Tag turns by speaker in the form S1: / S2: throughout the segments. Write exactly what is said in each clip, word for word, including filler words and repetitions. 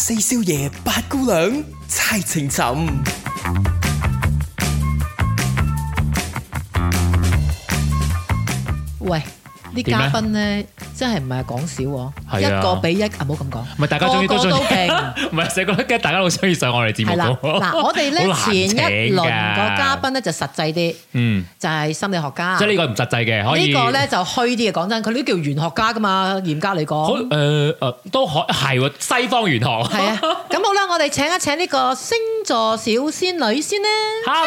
S1: 四少爺八姑娘猜情尋。
S2: 喂，啲嘉賓咧真係唔係講少喎，
S3: 係啊
S2: 一個比一啊，唔好咁講。
S3: 唔係大家終於都中意，
S2: 個個都勁
S3: 唔係成日覺得大家好中意上我哋節目
S2: 係啦，
S3: 㗎。
S2: 嗱，我哋咧
S3: 好難
S2: 前一輪個
S3: 請㗎
S2: 嘉賓咧就實際啲，
S3: 嗯，
S2: 就係心理學家。
S3: 即係呢個唔實際嘅，可以
S2: 呢個咧就虛啲嘅，講真，佢呢啲叫玄學家噶嘛，嚴格嚟
S3: 好
S2: 講。
S3: 誒誒都可係喎，西方玄學。
S2: 係啊，咁好啦，我哋請一請呢個星座小仙女先啦。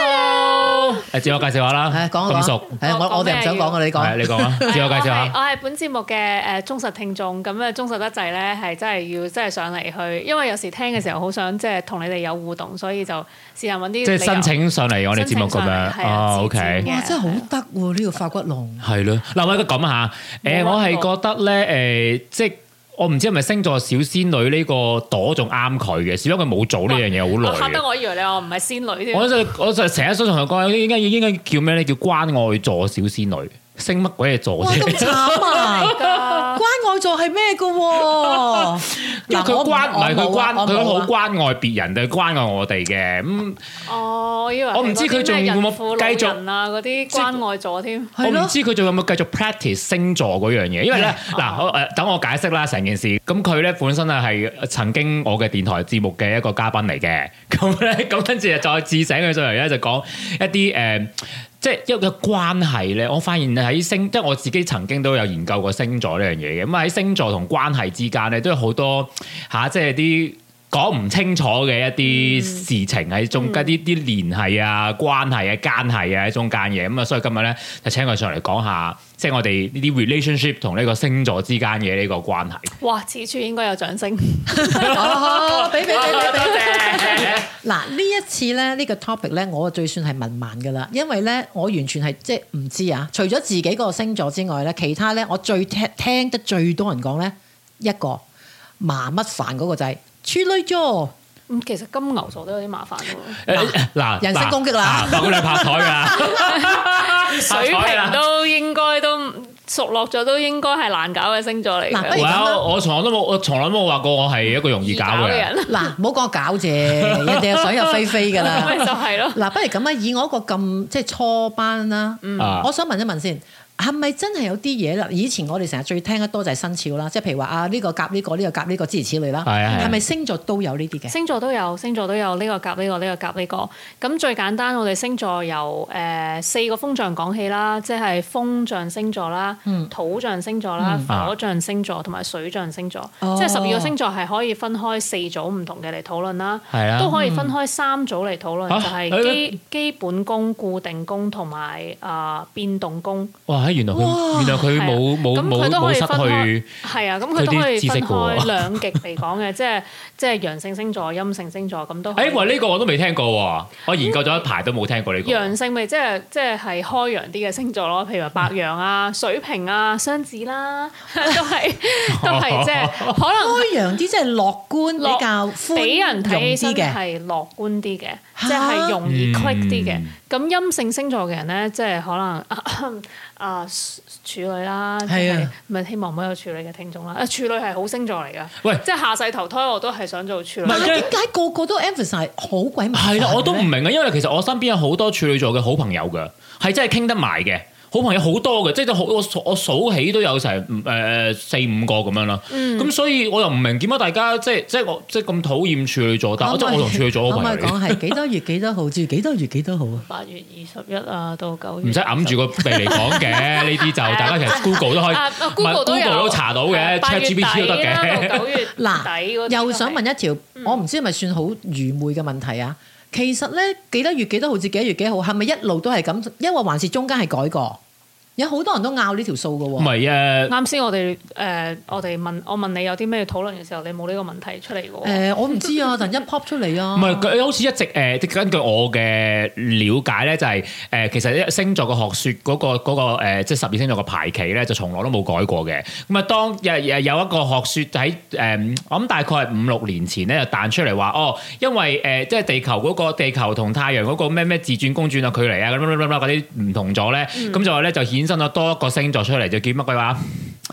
S3: Hello，誒自我介紹下啦，
S2: 係講一講
S3: 咁熟，
S2: 係我我哋唔想講嘅，你講。
S3: 係你講啊，自我介紹
S4: 我係
S3: 下。
S4: 我係本節目嘅誒忠實聽眾，咁啊忠實得滯咧，係真係要真係上嚟去，因為有時聽嘅時候好想即係同你哋有互動，所以就試下揾啲
S3: 即係申請上嚟我哋節目咁樣。哦，OK。
S2: 哇，真係好得喎！呢個發骨龍。
S3: 係咯，嗱我而家講下，誒我係覺得咧誒，即係我唔知係咪星座小仙女呢個朵仲啱佢嘅，只不過佢冇做呢樣嘢好耐嘅。
S4: 嚇得我以為你話唔係仙女添。
S3: 我就我就成日想同佢講，應該應該叫咩咧？叫關愛座小仙女，星乜鬼嘢座
S2: 哇，咁
S3: 啫？
S2: 慘啊！關愛座係咩嘅喎？
S3: 因為佢關唔係佢關，佢好
S2: 關。
S3: 關愛別人定係關愛我哋嘅咁。
S4: 哦，我以為
S3: 我唔知佢仲會冇繼續
S4: 人啊嗰啲關愛座添。
S3: 我唔知佢仲有冇繼續 practice 星座嗰樣嘢，因為咧嗱，我誒等我解釋啦成件事。咁佢咧本身啊係曾經我嘅電台節目嘅一個嘉賓嚟嘅，咁咧咁跟住再自醒佢上嚟咧就講一啲誒。呃即係一個關係咧，我發現喺星，即係我自己曾經都有研究過星座呢樣嘢嘅。咁喺星座同關係之間咧，都有好多嚇、啊，即係啲講唔清楚嘅一啲事情喺中間，啲啲、嗯、聯繫啊、關係啊、奸係啊喺中間嘅。咁啊，所以今日咧就請佢上嚟講下，即係我哋呢啲 relationship 同呢個星座之間嘅呢個關係。
S4: 哇！此處應該有掌聲。
S2: 哦，俾俾俾俾
S3: 多
S2: 俾。
S3: 謝。
S2: 嗱呢一次咧，呢個 topic 咧，我最算係文盲㗎啦，因為咧我完全係即係唔知啊。除咗自己個星座之外咧，其他咧我最聽聽得最多人講咧，一個麻乜煩嗰個就係處女座。
S4: 咁其實金牛座都有啲麻煩喎。
S3: 嗱，
S2: 人身攻擊啦，
S3: 嗱，佢哋拍台㗎，
S4: 水瓶都應該都熟落咗，都應該係難搞嘅星座嚟
S2: 嗱不
S4: 嘅。
S2: 如咁啦
S3: 我我從來都冇，我從來都冇話過我係一個容易搞嘅人。
S4: 人，
S2: 嗱，唔好講搞啫，人哋又想入非非㗎啦。
S4: 咪就係咯。
S2: 嗱，不如咁啊，以我一個咁即係初班啦，
S3: 啊
S2: 我想問一問先。係咪真係有啲嘢啦？以前我哋成日最聽得多就係生肖啦，即係譬如話啊呢個夾呢個，呢個夾呢個諸如此類啦。
S3: 係啊係啊
S2: 係咪星座都有呢啲嘅？
S4: 星座都有，星座都有呢個夾呢個，呢個夾呢個。咁最簡單，我哋星座由誒四個風象講起啦，即係風象星座啦、土象星座啦、火象星座同埋水象星座。
S2: 哦
S4: 即係十二個星座係可以分開四組唔同嘅嚟討論啦，
S3: 係啊
S4: 都可以分開三組嚟討論，
S3: 啊
S4: 就係基基本宮、固定宮同埋啊變動宮。
S3: 哇！原來佢
S2: 哇
S3: 原來佢冇冇
S4: 咁
S3: 冇
S4: 佢都可以
S3: 冇失去
S4: 分開，係啊，咁佢都可以分
S3: 佢啲知識㗎喎
S4: 開兩極嚟講嘅，即係即係陽性星座、陰性星座咁都可以。
S3: 誒，喂，呢個我都未聽過喎，我研究咗一排都冇聽過呢個。
S4: 陽性咪即係即係係開陽啲嘅星座咯，譬如話白羊啊、水瓶啊、雙子啦，都係都係即係可能
S2: 開陽啲即係樂觀
S4: 樂
S2: 比較寬
S4: 俾人睇起身
S2: 容啲嘅。
S4: 係樂觀啲嘅，即係容易 click 啲嘅。咁陰性星座嘅人咧，即係可能啊處女啦，
S2: 係啊，
S4: 咪希望唔好有處女嘅聽眾啦。啊處女係好星座嚟㗎，
S3: 喂
S4: 即係下世投胎我都係想做處女。
S2: 但係點解個個都 emphasize 好鬼麻煩
S3: 係啦，我都唔
S2: 咧
S3: 明啊，因為其實我身邊有好多處女座嘅好朋友㗎，係真係傾得埋嘅。好朋友好多嘅，即係好我數我數起都有成誒四五個咁樣啦。咁、嗯、所以我又唔明點解大家即係即係我即係咁討厭處女座，但係我即係我同處女座好朋友嚟。
S2: 可唔可以講係幾多月幾多號至幾多月幾多號啊？
S4: 八月二十一啊，到九月。
S3: 唔使揞住個鼻嚟講嘅，呢啲就大家其實 Google 都可以，
S4: 啊 Google 都有
S3: Google 都查到嘅，ChatGPT 都得嘅。
S4: 九月底
S2: 嗱，
S4: 嗰啲
S2: 又想問一條，我唔知係咪算好愚昧嘅問題啊？其實咧幾多月幾多號至幾多月幾號，係咪一路都係咁？因為還是中間係改過？有好多人都拗呢條數嘅喎。
S3: 唔係啊，
S4: 啱先我哋誒、呃、我哋問我問你有啲咩討論嘅時候，你冇呢個問題出嚟嘅喎。
S2: 誒，我唔知啊，突然一 pop 出嚟啊。
S3: 唔係佢好似一直誒，即根據我嘅了解咧，就係誒其實星座嘅學説嗰個嗰個誒，即係十二星座嘅排期咧，就從來都冇改過嘅。咁啊，當有有有一個學説喺誒，我諗大概係五六年前咧，就彈出嚟話哦，因為誒即係地球嗰個地球同太陽嗰個咩咩自轉公轉啊距離啊咁嗰啲唔同咗咧，咁就話咧就衍生咗多一個星座出嚟，就叫乜鬼話？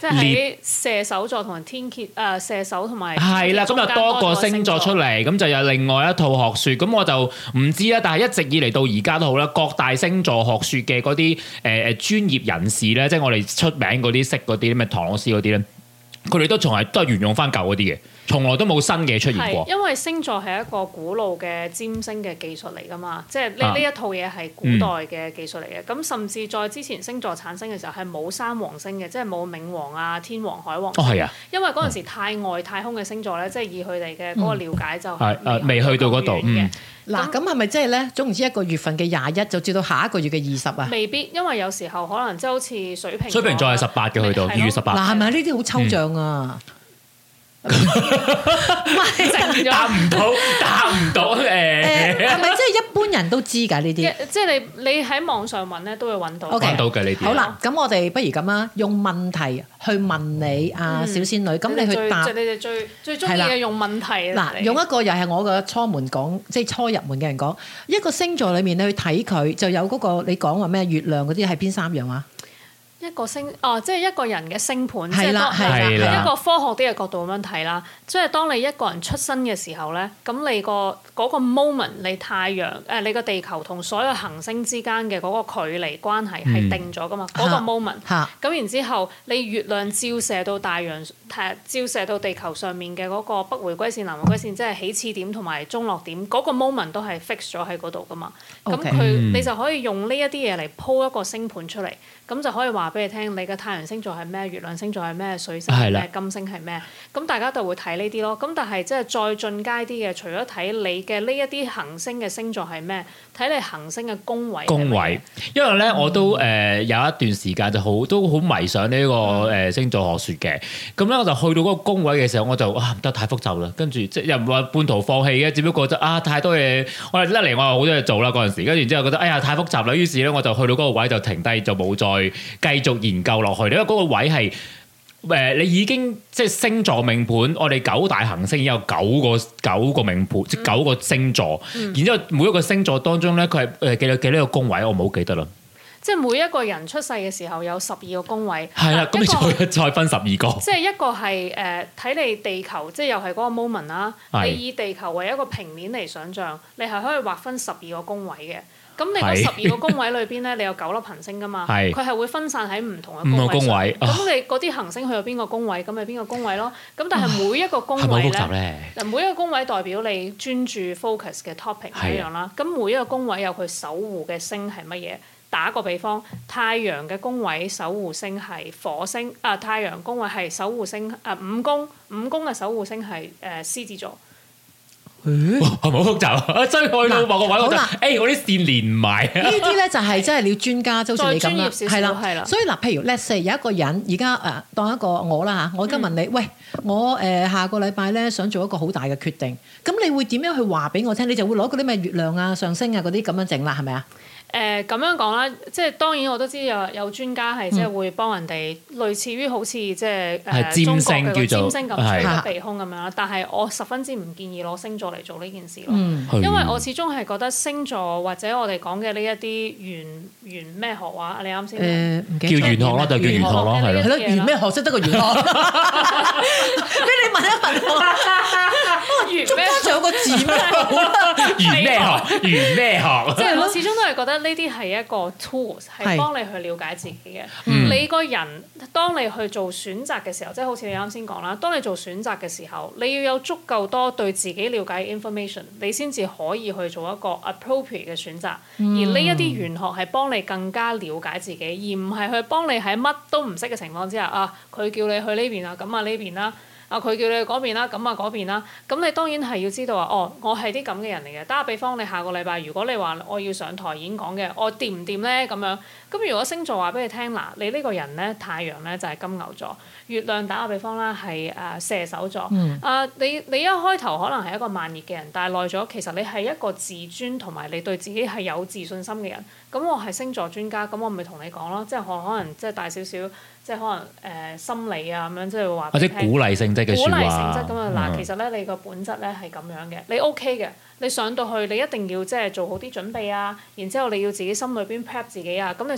S4: 即係喺射手座同埋天蠍誒射手同埋
S3: 係啦，咁就多個星座出嚟，咁就有另外一套學説。咁我就唔知啦，但係一直以嚟到而家都好啦，各大星座學説嘅嗰啲誒誒專業人士咧，即係我哋出名嗰啲識嗰啲咩唐老師嗰啲咧，佢哋都從係都係沿用翻舊嗰啲嘅。從來都冇新嘅出現過。
S4: 因為星座係一個古老嘅占星嘅技術嚟㗎嘛，即係呢呢一套嘢係古代嘅技術嚟嘅。咁、嗯、甚至在之前星座產生嘅時候係冇三王星嘅，即係冇冥王啊、天王、海王星。
S3: 哦，係啊。
S4: 因為嗰陣時太外太空嘅星座咧，即係以佢哋嘅嗰個了解就係、
S3: 嗯、未去到嗰度嘅。
S2: 嗱，咁係咪即係咧？總唔知一個月份嘅廿一就至到下一個月嘅二十啊？
S4: 未必，因為有時候可能即係好似水瓶。
S3: 水瓶座係十八嘅去到二月十八。
S2: 嗱，係咪呢啲好抽象啊？嗯
S4: 唔係
S3: 答唔到，答唔到誒。
S2: 係咪即係一般人都知㗎呢啲？
S4: 即係你你喺網上問咧，都會揾到。
S3: 揾
S2: Okay,
S3: 到嘅呢啲。
S2: 好啦，咁我哋不如咁啦，用問題去問你啊，小仙女，咁、嗯、你去答。
S4: 你哋最最中意嘅用問題。
S2: 嗱，用一個又係我嘅初門講，即係初入門嘅人講，一個星座裡面你去睇佢，就有嗰、嗰個你講話咩月亮嗰啲係邊三樣啊？
S4: 一個星哦，即係一個人嘅星盤，
S2: 係啦
S4: 即係
S3: 係
S4: 一個科學啲嘅角度咁樣睇啦。即係當你一個人出生嘅時候咧，咁你個嗰個 moment，你太陽誒，你個地球同所有行星之間嘅嗰個距離關係係定咗噶嘛？嗰、嗯、個 moment。嚇。咁然之後，你月亮照射到大洋，誒照射到地球上面嘅嗰個北迴歸線、南迴歸線，即係起始點同埋中落點，嗰、嗰個 moment 都係 fix 咗喺嗰度噶嘛。咁佢
S2: Okay.
S4: 你就可以用呢一啲嘢嚟鋪一個星盤出嚟，咁就可以話俾你聽，你嘅太陽星座係咩？月亮星座係咩？水星係咩？金星係咩？咁大家就會睇呢啲咯。咁但係即係再進階啲嘅，除咗睇你嘅呢一啲行星嘅星座係咩，睇你行星嘅宮位。宮位，
S3: 因為咧我都誒、呃、有一段時間就好都好迷上呢個誒星座學説嘅。咁咧我就去到嗰個宮位嘅時候，我就啊唔得太複雜啦。跟住即係又唔話半途放棄嘅，只不過就啊太多嘢，我哋一嚟我有好多嘢做啦嗰陣時，跟住之後覺得哎呀太複雜啦，於是咧我就去到嗰個位就停低，就冇再繼續研究落去。因為嗰個位係誒、呃、你已經即係星座命盤，我哋九大行星已經有九個九個命盤，嗯、即係九個星座。嗯、然之後每一個星座當中咧，佢係誒記得幾多個宮位，我唔好記得啦。
S4: 即係每一個人出世嘅時候有十二個宮位。
S3: 係啦，咁你再再分十二個。
S4: 即係一個係誒睇你地球，即係又係嗰個 moment 啦。你以地球為一個平面嚟想像，你係可以劃分十二個宮位嘅。咁你嗰十二個宮位裏邊咧，你有九粒行星噶嘛？佢係會分散喺唔同嘅宮位。咁你嗰啲行星去到邊個宮位，咁咪邊個宮位咯？咁但係每一個宮位咧，嗱每一個宮位代表你專注 focus 嘅 topic 一樣啦。咁每一個宮位有佢守護嘅星係乜嘢？打個比方，太陽嘅宮位守護星係火星，啊太陽宮位係守護星啊五宮，五宮嘅守護星係誒獅子座。
S3: 係咪好複雜啊？真係去到某個位，我覺得誒我啲線連唔埋。呢
S2: 啲咧就係真係你要專家，就好似你咁啦，係啦，
S4: 係啦。
S2: 所以嗱，譬如 let's say 有一個人而家誒當一個我啦嚇，我而家問你，喂，我誒下個禮拜咧想做一個好大嘅決定，咁你會點樣去話俾我聽？你就會攞嗰啲咩月亮啊、上升啊嗰啲咁樣整啦，係咪啊？
S4: 誒咁樣講啦，即係當然我都知有有專家係即係會幫人哋類似於好似即係誒中國嘅占星咁出個鼻空咁樣啦。但係我十分之唔建議攞星座嚟做呢件事咯，嗯、因為我始終係覺得星座或者我哋講嘅呢一啲玄玄咩學話，你啱先
S3: 誒叫玄學咯，就叫玄學咯，係咯，
S2: 係咯，玄咩學識得個玄學？俾你問一問我，中間仲有個字咩？
S3: 玄咩學？玄咩學？
S4: 即係我始終都係覺得。呢啲係一個 tools， 係幫你去了解自己嘅。
S3: 嗯、
S4: 你個人當你去做選擇嘅時候，即係好似你啱先講啦，當你做選擇嘅時候，你要有足夠多對自己了解嘅 information，你先至可以去做一個 appropriate 嘅選擇。嗯、而呢一啲玄學係幫你更加了解自己，而唔係去幫你喺乜都唔識嘅情況之下啊，佢叫你去呢邊啊，咁啊呢邊啦。啊！佢叫你去嗰邊啦，咁啊嗰邊啦，咁你當然係要知道啊。哦，我係啲咁嘅人嚟嘅。打個比方，你下個禮拜如果你話我要上台演講嘅，我掂唔掂咧？咁樣咁如果星座話俾你聽嗱，你呢個人咧太陽咧就係金牛座，月亮打個比方啦係誒射手座。嗯、啊，你你一開頭可能係一個慢熱嘅人，但係耐咗其實你係一個自尊同埋你對自己係有自信心嘅人。咁我係星座專家，咁我咪同你講咯，即係可可能即係大少少。即係可能誒、呃、心理啊咁樣，即係話
S3: 或者鼓勵性質嘅説話。鼓勵性質咁啊嗱，嗯、其實咧你個本質咧係咁樣嘅，你 OK 嘅，你上到去你一定要即係做好啲準備啊，然之後你要自己心裏邊 prep 自己啊，咁你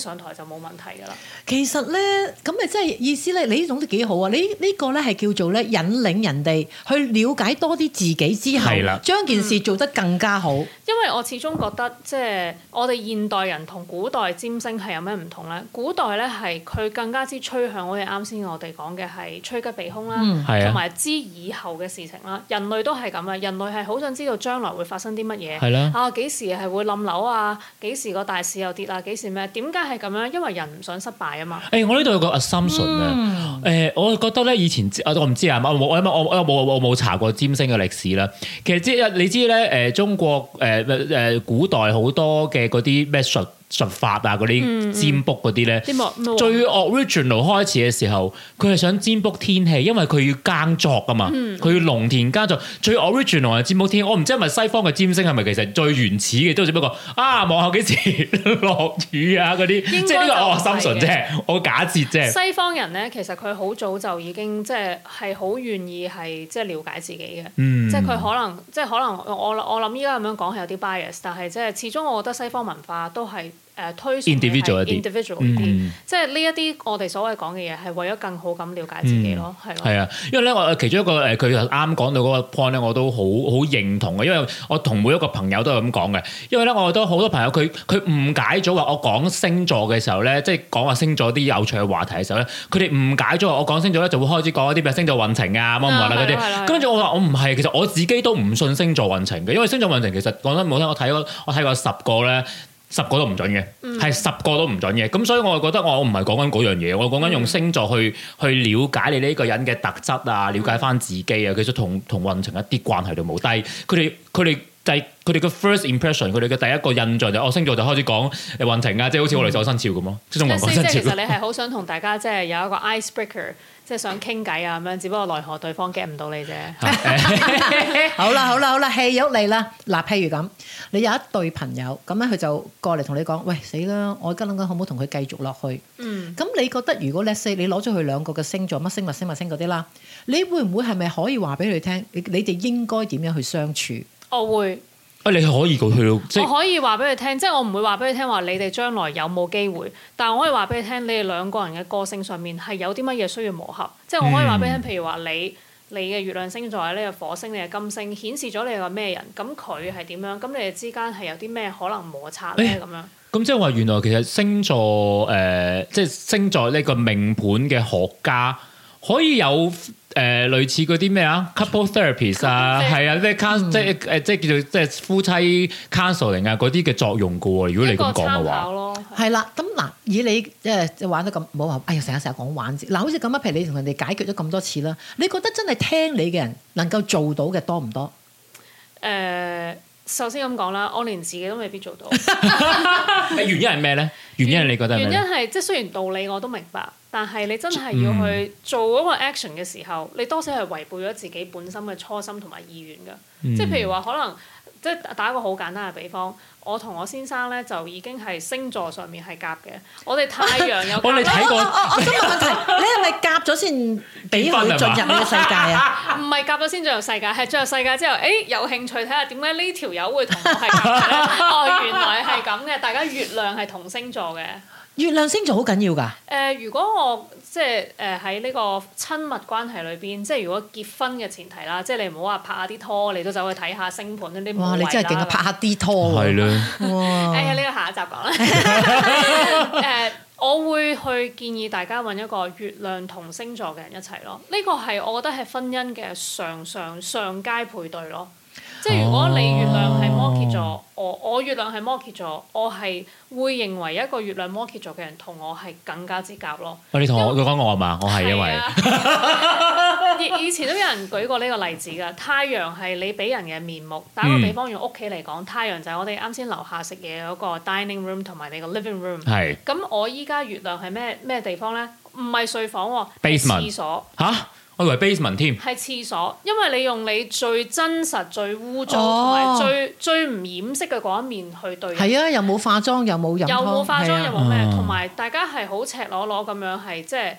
S4: 上台就冇問題㗎啦。
S2: 其實咧，咁咪即係意思咧，你呢種都幾好啊！你呢個咧係叫做咧引領人哋去了解多啲自己之後，將件事做得更加好。嗯、
S4: 因為我始終覺得即係我哋現代人同古代占星係有咩唔同咧？古代咧係佢更加之趨向我哋啱先我哋講嘅係趨吉避凶啦，同埋、嗯、知以後嘅事情啦。人類都係咁啊！人類係好想知道將來會發生啲乜嘢，
S3: 的
S4: 啊幾時係會冧樓啊？幾時個大市又跌啊？幾時咩？點解係咁樣？因為人唔想失敗啊嘛。
S3: 誒、欸，我呢度有個 assumption 啊、嗯，誒、呃，我覺得咧以前我唔知啊，我我我我我冇我冇查過占星嘅歷史啦。其實即係你知咧，誒、呃、中國誒誒、呃、古代好多嘅嗰啲咩術術法啊，嗰啲占卜嗰啲咧，嗯嗯、最 original 開始嘅時候，佢係想占卜天氣，因為佢要耕作啊嘛，佢、嗯、要農田耕作。最 original 係占卜天氣，我唔知係咪西方嘅占星係咪其實最原始嘅，都只不過啊望下幾時落雨啊嗰啲，即係呢個我 assumption 啫，我假設啫。
S4: 西方人咧，其實佢好早就已經即係係好願意係即係了解自己嘅，嗯、即係佢可能即係可能我我諗依家咁樣講係有啲 bias， 但係即係始終我覺得西方文化都係。誒推崇 individual 一啲，individual 一啲，即係呢一啲我哋所謂講嘅嘢係為咗更好咁了解自己咯，係咯。係啊，因為咧我其中一個誒佢啱講到嗰個 point 咧，我都好好認同嘅，因為我同每一個朋友都係咁講嘅。因為咧，我覺得好多朋友佢佢誤解咗話我講星座嘅時候咧，即係講話星座啲有趣嘅話題嘅時候咧，佢哋誤解咗我講星座咧就會開始講一啲咩星座運程啊乜乜啦嗰啲。跟住我話我唔係，其實我自己都唔信星座運程嘅，因為星座運程其實講得唔好聽，我睇過我睇過十個咧。十個都唔準嘅，係、嗯、十個都唔準嘅。咁所以我就覺得我唔係講緊嗰樣嘢，我講緊用星座去、嗯、去了解你呢個人嘅特質啊，了解翻自己啊。其實同同運程一啲關係都冇。但係佢哋佢哋就係佢哋嘅 first impression， 佢哋嘅第一個印象就哦星座就開始講誒運程啊，即係好似我哋守生肖咁咯。即係中文講生肖。即係其實你係好想同大家即係有一個 icebreaker。即係想傾偈啊咁樣，只不過奈何對方 get 唔到你啫。
S2: 好啦好啦好啦，戲肉嚟啦！嗱，譬如咁，你有一對朋友咁咧，佢就過嚟同你講：喂，死啦！我而家諗緊可唔可以同佢繼續落去？嗯。咁你覺得如果 let's say 你攞咗佢兩個嘅星座乜星乜星乜星嗰啲啦，你會唔會係咪可以話俾佢聽？你你哋應該點樣去相處？
S4: 我會。
S3: 啊！你可以去到，即係
S4: 我可以話俾佢聽，即係我唔會話俾佢聽話你哋將來有冇機會，但係我可以話俾佢聽，你哋兩個人嘅個性上面係有啲乜嘢需要磨合。即係我可以話俾佢聽，譬如話你你嘅月亮星座係呢個火星，你嘅金星顯示咗你係個咩人，咁佢係點樣？咁你哋之間係有啲咩可能摩擦咧？咁樣。咁
S3: 即係話原來其實星座誒、呃，即係星座呢個命盤嘅學家可以有。誒、呃、類似嗰啲咩啊 couple therapies 啊，係啊，即係 counsel 即係誒即係叫做即係夫妻 counseling 啊嗰啲嘅作用㗎喎。如果你咁講嘅話，
S2: 係啦。咁嗱，以你即係玩得咁冇話，哎呀成日成日講玩字嗱，好似咁啊。譬如你同人哋解決咗咁多次啦，你覺得真係聽你嘅人能夠做到嘅多唔多？
S4: 誒、呃，首先咁講啦，我連自己都未必做到。
S3: 原因係咩咧？原因係你覺得係咩？
S4: 原因係即係雖然道理我都明白。但係你真係要去做嗰個 action 嘅時候，嗯、你多少係違背咗自己本身嘅初心同埋意願㗎。嗯、即係譬如話，可能即係打一個好簡單嘅比方，我同我先生咧就已經係星座上面係夾嘅。我哋太陽有夾。我哋睇過。
S2: 我想問問題，你係咪夾咗先俾佢進入你嘅世界啊？
S4: 唔係夾咗先進入世界，係進入世界之後，誒、欸、有興趣睇下點解呢條友會同我係夾嘅咧？哦，原來係咁嘅，大家月亮係同星座嘅。
S2: 月亮星座好緊要㗎。誒、
S4: 呃，如果我即係誒喺呢個親密關係裏邊，即係如果結婚嘅前提啦，即係你唔好話拍下啲拖，你都走去睇下星盤呢啲冇謂啦。哇！你真係勁啊，拍下啲拖喎。係啦。哇！哎呀，呢個下一集講啦。誒、呃，我會去建議大家揾一個月亮同星座嘅人一齊咯。呢個係我覺得係婚姻嘅上上上階配對咯。即係如果你月亮係摩羯座，我我月亮係摩羯座，我係會認為一個月亮摩羯座嘅人同我係更加之夾咯。
S3: 你同我佢講我係嘛？我係因為
S4: 以以前都有人舉過呢個例子㗎。太陽係你俾人嘅面目。打個比方用屋企嚟講，嗯、太陽就係我哋啱先樓下食嘢嗰個 dining room 同埋你個 living room。係。咁我依家月亮係咩咩地方咧？唔係睡房喎，係廁所。嚇！
S3: 我以為 basement 添，
S4: 係廁所，因為你用你最真實、最污糟同埋最、哦、最唔掩飾嘅嗰一面去對。
S2: 係啊，又冇化妝，又冇飲湯，
S4: 又冇化妝，啊、又冇咩，同埋大家係好赤裸裸咁樣，係即係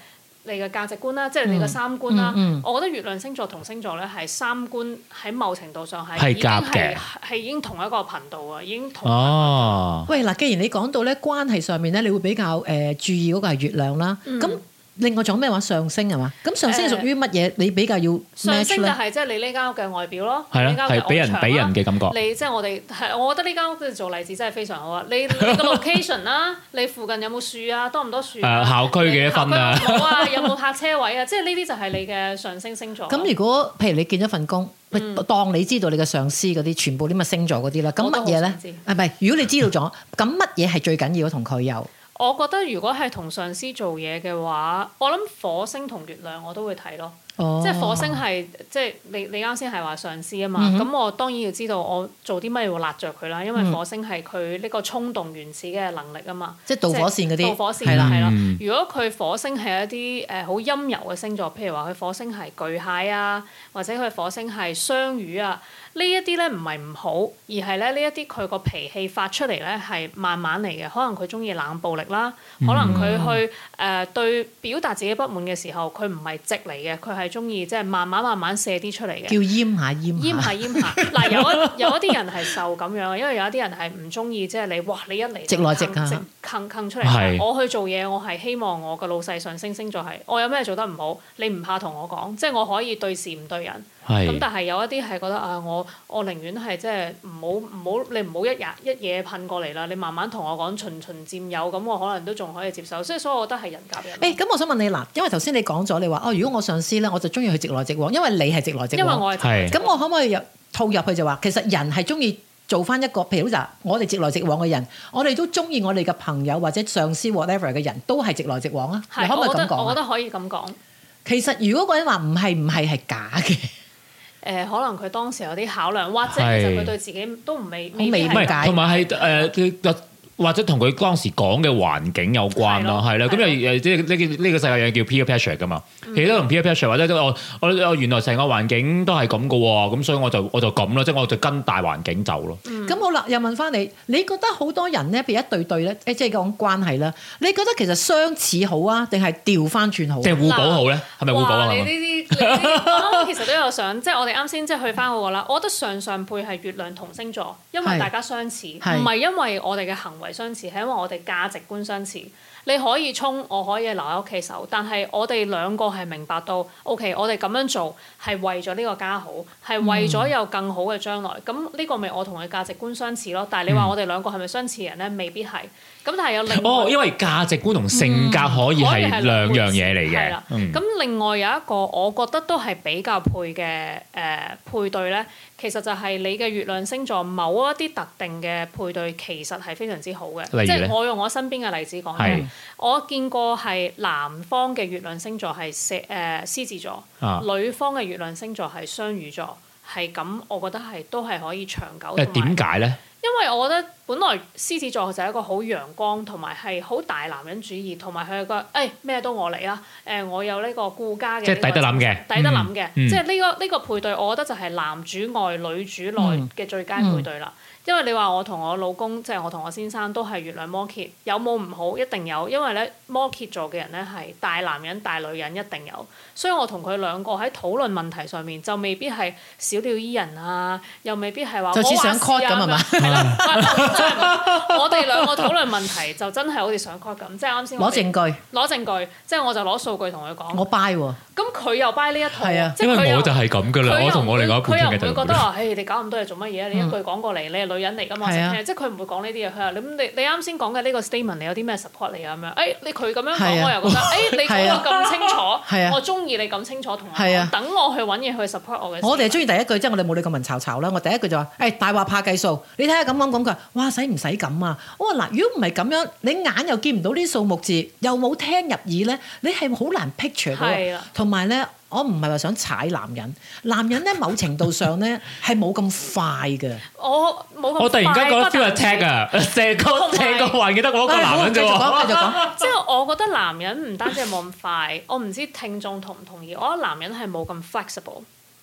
S4: 你嘅價值觀啦，即係你嘅三觀啦。
S2: 嗯嗯嗯、
S4: 我覺得月亮星座同星座咧係三觀喺某程度上係已經係係已經同一個頻道啊，已經同。
S3: 哦。
S2: 喂嗱，既然你講到咧關係上面咧，你會比較誒、呃、注意嗰個係月亮啦，咁、嗯。另外仲有咩話上升係嘛？咁上升屬於乜嘢？你比較要 match
S4: 上升就係即係你呢間屋嘅外表咯，
S3: 係啊，係俾人俾人嘅感覺。
S4: 你即係我哋係，我覺得呢間屋做例子真係非常好啊！你你個 location 啦，你附近有冇樹啊？多唔多樹？
S3: 誒校區嘅一分啊！
S4: 好啊，有冇泊車位啊？即係呢啲就係你嘅上升星座。
S2: 咁如果譬如你見咗份工，嗯、當你知道你嘅上司嗰啲全部啲乜星座嗰啲啦，咁乜嘢咧？係咪？如果你知道咗，咁乜嘢係最緊要同佢有？
S4: 我覺得如果係同上司做嘢嘅話，我諗火星同月亮我都會睇咯。哦、即係火星係即係你你啱先係話上司啊嘛，咁、嗯、哼我當然要知道我做啲乜要辣着佢啦，因為火星係佢呢個衝動原始嘅能力啊嘛。即係導火線嗰啲。導火線係啦係啦。如果佢火星係一啲誒好陰柔嘅星座，譬如話佢火星係巨蟹啊，或者佢火星係雙魚啊。呢一啲咧唔係唔好，而係咧呢一啲佢個脾氣發出嚟咧係慢慢嚟嘅。可能佢中意冷暴力啦，可能佢去誒、呃、對表達自己不滿嘅時候，佢唔係直嚟嘅，佢係中意即係慢慢慢慢射啲出嚟嘅。叫閹下閹下。閹下閹下。嗱有一有一啲人係受咁樣，因為有一啲人係唔中意即係你哇你一嚟直來直去坑坑出嚟。是我去做嘢，我係希望我個老細上升星座係我有咩做得唔好，你唔怕同我講，即係我可以對事唔對人。咁是但係有一啲係覺得啊，我我寧願係即係唔好唔好你唔好一日一嘢噴過嚟啦，你慢慢同我講循循漸有，咁我可能都仲可以接受。所以所以我覺得係人夾人。誒咁、欸，我想問你嗱，因為頭先你講咗你話哦，如果我上司咧，我就中意佢直來直往，因為你係直來直往。因為我係。咁我可唔可以入套入去就話，其實人係中意做翻一個，譬如嗱，我哋直來直往嘅人，我哋都中意我哋嘅朋友或者上司 whatever 嘅人都係直來直往啊。是你可唔可以咁講？我覺得可以咁講。其實如果個人話唔係唔係係假嘅。誒、呃、可能佢當時有啲考量，或者其實佢對自己都唔未未必係解，同埋係誒或者同佢當時講嘅環境有關咯，係啦。咁又誒即係呢呢個世界有叫 peer pressure 噶嘛，嗯、其實都同 peer pressure 或者我我我原來成個環境都係咁噶喎，咁所以我就我就咁咯，即係我就跟大環境走咯。咁、嗯、好啦，又問翻你，你覺得好多人咧，譬如一對對咧，誒即係講關係啦，你覺得其實相似好啊，定係調翻轉好？即係互補好咧，係咪互補啊？你呢啲我其實都有想，即係我哋啱先即係去翻嗰個啦。我覺得上上配係月亮同星座，因為大家相似，唔係因為我哋嘅行為相似，係因為我哋價值觀相似。你可以衝，我可以留喺屋企守，但係我哋兩個係明白到 ，OK， 我哋咁樣做係為咗呢個家好，係為咗有更好嘅將來。咁呢、嗯、個咪我同佢價值觀相似咯。但係你話我哋兩個係咪相似人咧？未必係。咁但係有另外哦，因為價值觀同性格可以係、嗯、兩樣嘢嚟嘅。係啦。咁、嗯、另外有一個我覺得都係比較配嘅誒、呃、配對咧。其實就係你嘅月亮星座某一啲特定嘅配對，其實係非常之好嘅。即係我用我身邊嘅例子講咧，是我見過係男方嘅月亮星座係射誒獅子座，啊、女方嘅月亮星座係雙魚座，係咁，我覺得係都係可以長久。誒點解咧？因為我覺得本來獅子座就係一個好陽光同埋係好大男人主義，同埋佢係個誒咩都我嚟啦。誒、呃、我有呢個顧家嘅，即係抵得諗嘅，抵得諗嘅。嗯、即係呢、呢個呢、呢個配對，我覺得就係男主外女主內嘅最佳配對啦。嗯嗯、因為你話我同我老公，即係我同我先生都係月亮摩羯，有冇唔好？一定有，因為咧摩羯座嘅人咧係大男人大女人一定有，所以我同佢兩個喺討論問題上面就未必係小鳥依人啊，又未必係話就似想 cut 咁係嘛？係啦，我哋兩個討論問題就真係好似想 cut 咁，即係啱先攞證據，攞證據，即係我就攞數據同佢講。我 buy 喎，咁佢又 buy 呢一套，啊、因為我就係咁噶啦，我同我另外一半傾嘅就佢又唔會覺得話，誒你搞咁多嘢做乜嘢？你一句講過嚟，你係女人嚟㗎嘛？嗯、即係佢唔會講呢啲嘢。佢話：咁你你啱先講嘅呢個 statement，你有啲咩 support 你啊？咁樣，誒你佢咁樣講，啊、我又覺得，誒、哎、你講到咁清楚，啊、我中意你咁清楚同我講，等、啊、我去揾嘢去 support 我嘅。我哋係中意第一句，即係我哋冇你咁文嘈嘈啦。我第一句就話：誒、哎、大話怕計數，你睇下咁講講佢，哇使唔使咁啊？我話嗱，如果唔係咁樣，你眼又見唔到啲數目字，又冇聽入耳咧，你係好難 picture 到。同埋咧。我唔係話想踩男人，男人咧某程度上咧係冇咁快嘅。我冇咁快。我突然間覺得 feel attack 啊！成個成個環境得我一個男人啫喎。繼續講，繼續講。即係我覺得男人唔單止係冇咁快，我唔知聽眾同唔同意。我覺得男人係冇咁 flexible，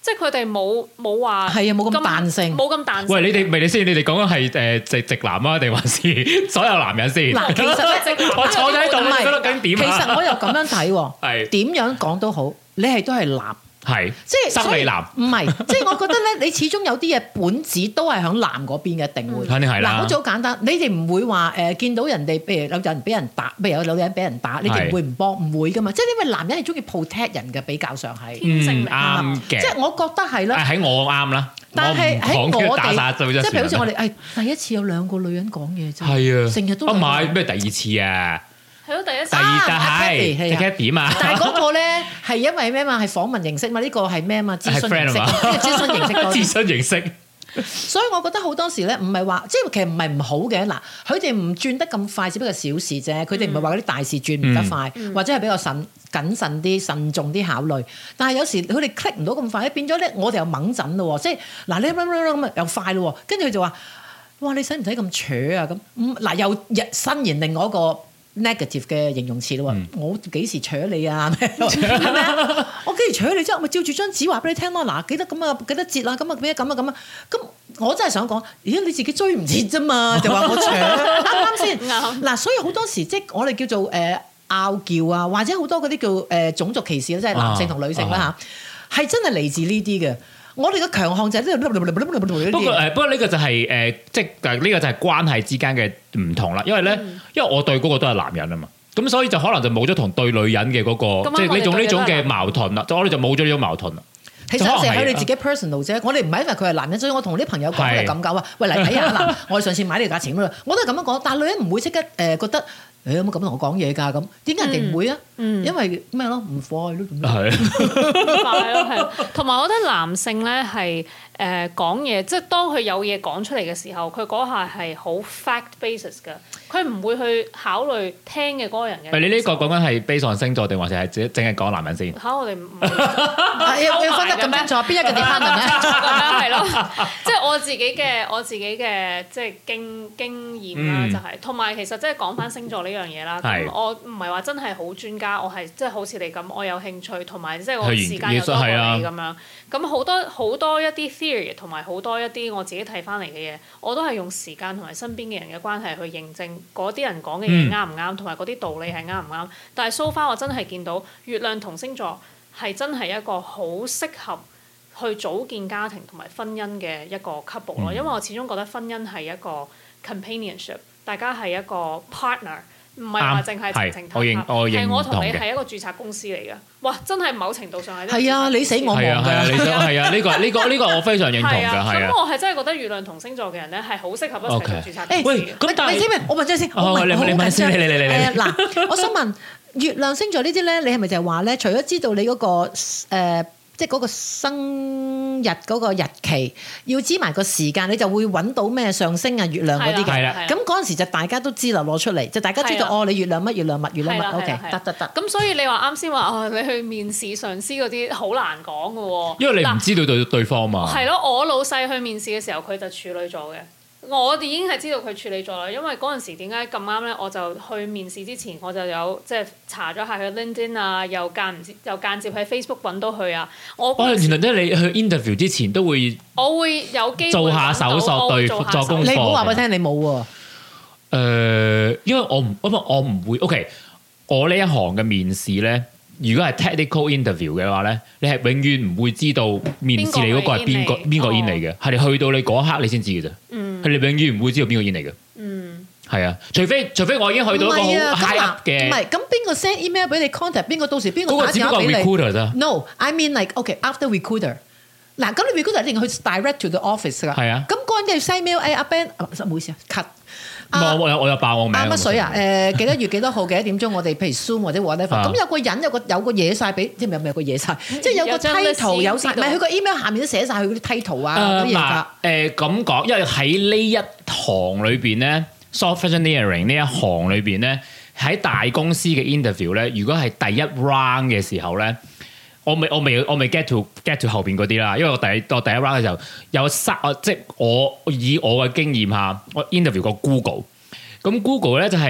S4: 即係佢哋冇冇話
S2: 係啊，冇咁彈性，
S4: 冇咁彈性。
S3: 喂，你哋咪你先，你哋講緊係誒直直男啊，定還是所有男人先？
S2: 嗱，其實咧，
S3: 我坐喺度，
S2: 唔係
S3: 覺得緊點啊？
S2: 其實我又咁樣睇喎，
S3: 係
S2: 點樣講都好，你係都係男。
S3: 係，
S2: 即係
S3: 生理男，
S2: 唔係，即係我覺得咧，你始終有啲嘢本質都係響男嗰邊嘅，一定會。
S3: 肯定係啦。
S2: 嗱，好似好簡單，你哋唔會話誒見到人哋，譬如有人俾人打，譬如有女人俾人打，你哋唔會唔幫，唔會噶嘛。即係因為男人係中意 protect 人嘅，比較上係。
S3: 嗯，啱嘅。
S2: 即係我覺得係啦。
S3: 喺我啱啦，
S2: 但係喺我哋，
S3: 即
S2: 係譬如好似我哋誒第一次有兩個女人講嘢啫。
S3: 係啊，
S2: 成日都。
S3: 啊唔係咩第二次啊？
S4: 係咯，第一次。
S3: 第二就係第一點啊！
S2: 但係嗰個咧係因為咩嘛？係訪問形式嘛？呢個係咩嘛？諮詢形式，諮詢形式多啲。
S3: 諮詢形式。
S2: 所以我覺得好多時咧，唔係話即係其實唔係唔好嘅。嗱，佢哋唔轉得咁快，只不過小事啫。佢哋唔係話嗰啲大事轉唔得快，嗯、或者係比較慎謹慎啲、慎重啲考慮。但係有時佢哋 click 唔到咁快，變咗咧，我哋又掹陣咯。即係嗱，你咁又快咯，跟住佢就話：哇！你使唔使咁扯啊？咁嗱又新言另外一個 negative 嘅形容詞咯，嗯、我幾時搶你啊？係咪啊？我幾時搶你之後，咪照住張紙話俾你聽咯。嗱，記得咁啊，記得節啊，咁啊，咩咁啊，咁啊，咁我真係想講，咦？你自己追唔切啫嘛，就話我搶，啱啱先？嗱，所以好多時即係我哋叫做誒拗撬啊，或者好多嗰啲叫誒、呃、種族歧視啦，即係男性同女性啦嚇，係、啊啊、真係嚟自呢啲嘅。我哋嘅強項就係呢度。不過
S3: 誒，不過呢個就係、是、誒、呃，即係呢個就係關係之間嘅唔同啦。因為咧，嗯、因為我對嗰個都係男人啊嘛，咁所以就可能就冇咗同對女人嘅嗰、那個，即係呢種呢種嘅矛盾啦。就我哋就冇咗呢種矛盾啦。
S2: 其實係佢哋自己 personal 啫。我哋唔係因為佢係男人，所以我同啲朋友講係咁講啊。喂，嚟睇下嗱，我哋上次買呢個價錢咁樣，我都係咁樣講。但係女人唔會即刻誒覺得。誒有冇咁同我講嘢㗎？咁點解人哋唔會啊？嗯、因為咩咯？唔快咯，
S3: 係
S4: 快咯，係。同埋我覺得男性咧係誒講嘢，即係當佢有嘢講出嚟嘅時候，佢嗰下係好 fact basis 㗎。佢唔會去考慮聽嘅嗰個人嘅。你
S3: 呢個講緊係 base on星座定還是係淨淨係講男人先？
S4: 嚇！我哋唔
S2: 要要分得咁清楚，邊一個 department 咧？
S4: 咁樣係咯，即係我自己嘅我自己嘅即係經經驗啦，就係同埋其實即係講翻星座呢樣嘢啦。咁我唔係話真係好專家，我係即係好似你咁，我有興趣同埋即係我時間又多過你咁樣。咁好多好多一啲 theory 同埋好多一啲我自己睇翻嚟嘅嘢，我都係用時間同埋身邊嘅人嘅關係去認證嗰啲人講嘅嘢啱唔啱，同埋嗰啲道理係啱唔啱。但係 so far 我真係見到月亮同星座係真係一個好適合去組建家庭同埋婚姻嘅一個 couple 咯，因為我始終覺得婚姻係一個 companionship， 大家係一個 partner。唔係話淨係情情塔塔，係我同你係一個註冊公司嚟嘅。哇！真係某程度上係。係
S2: 啊，你死我亡㗎。
S3: 係啊，你死係啊，呢個呢個呢個我非常認同㗎。係啊。
S4: 咁我係真係覺得月亮同星座嘅人咧係好適合一齊做註冊公司。
S2: 喂，咁但係你知唔知？我問咗先。
S3: 哦，你你問先，你你你你。
S2: 誒嗱，我想問月亮星座呢啲咧，你係咪就係話咧？除咗知道你嗰個誒，即係嗰個生日嗰個日期，要知埋個時間，你就會揾到咩上升啊、月亮嗰啲嘅。咁嗰陣時就大家都知啦，攞出嚟就大家知道哦，你月亮乜月亮乜月亮乜。OK，得得得。咁
S4: 所以你話啱先話哦，你去面試上司嗰啲好難講㗎喎。
S3: 因為你唔知道對對方嘛。
S4: 係咯，我老細去面試嘅時候，佢就處女座嘅。我哋已經係知道佢處理咗啦，因為嗰陣時點解咁啱咧？我就去面試之前，我就有即係查咗下佢 LinkedIn 啊，又間唔接又間接喺 Facebook 揾到佢啊。我哦，
S3: 原來即係你去 interview 之前都會，
S4: 我會有機會
S3: 做下手索對作功課。
S2: 你唔好話俾我聽，你冇喎。
S3: 誒，因為我唔，因為我唔會。OK，我呢一行嘅面試咧。如果係 technical interview 嘅話咧，你係永遠唔會知道面試你嗰個係邊個邊個 in 嚟嘅，係你去到你嗰一刻你先知嘅啫。嗯，係你永遠唔會知道邊個 in 嚟嘅。嗯，係啊，除非除非我已經去到一個好 high up 嘅。
S2: 唔係，咁邊個 send email 俾你 contact？邊個到時邊個打電話俾你？
S3: 嗰個只不過 recruiter 啫。
S2: No，I mean like OK after recruiter。嗱，咁你 recruiter 一定去 direct to the office 㗎。係啊。咁嗰陣要 send mail，誒阿 Ben，唔好意思啊 cut。
S3: 我我有我有爆我名。
S2: 乜水啊？誒幾多月幾多號幾多點鐘？我哋譬如 Zoom 或者 whatever。咁有個人有個有個嘢晒俾，即係咪有咪有個嘢晒？即係有個 title 有晒，唔係佢個 email 下面都寫晒佢嗰啲 title 啊嗰啲嘢㗎。誒
S3: 咁講，因為喺呢一行裏邊咧 ，software engineering 呢一行裏邊咧，喺大公司嘅 interview 咧，如果係第一 round 嘅時候咧。我未我未我未 get to get to 後邊嗰啲啦，因為我第我第一 round 嘅時候有三，即係我以我嘅經驗下，我 interview 過 Google，咁 Google 咧就係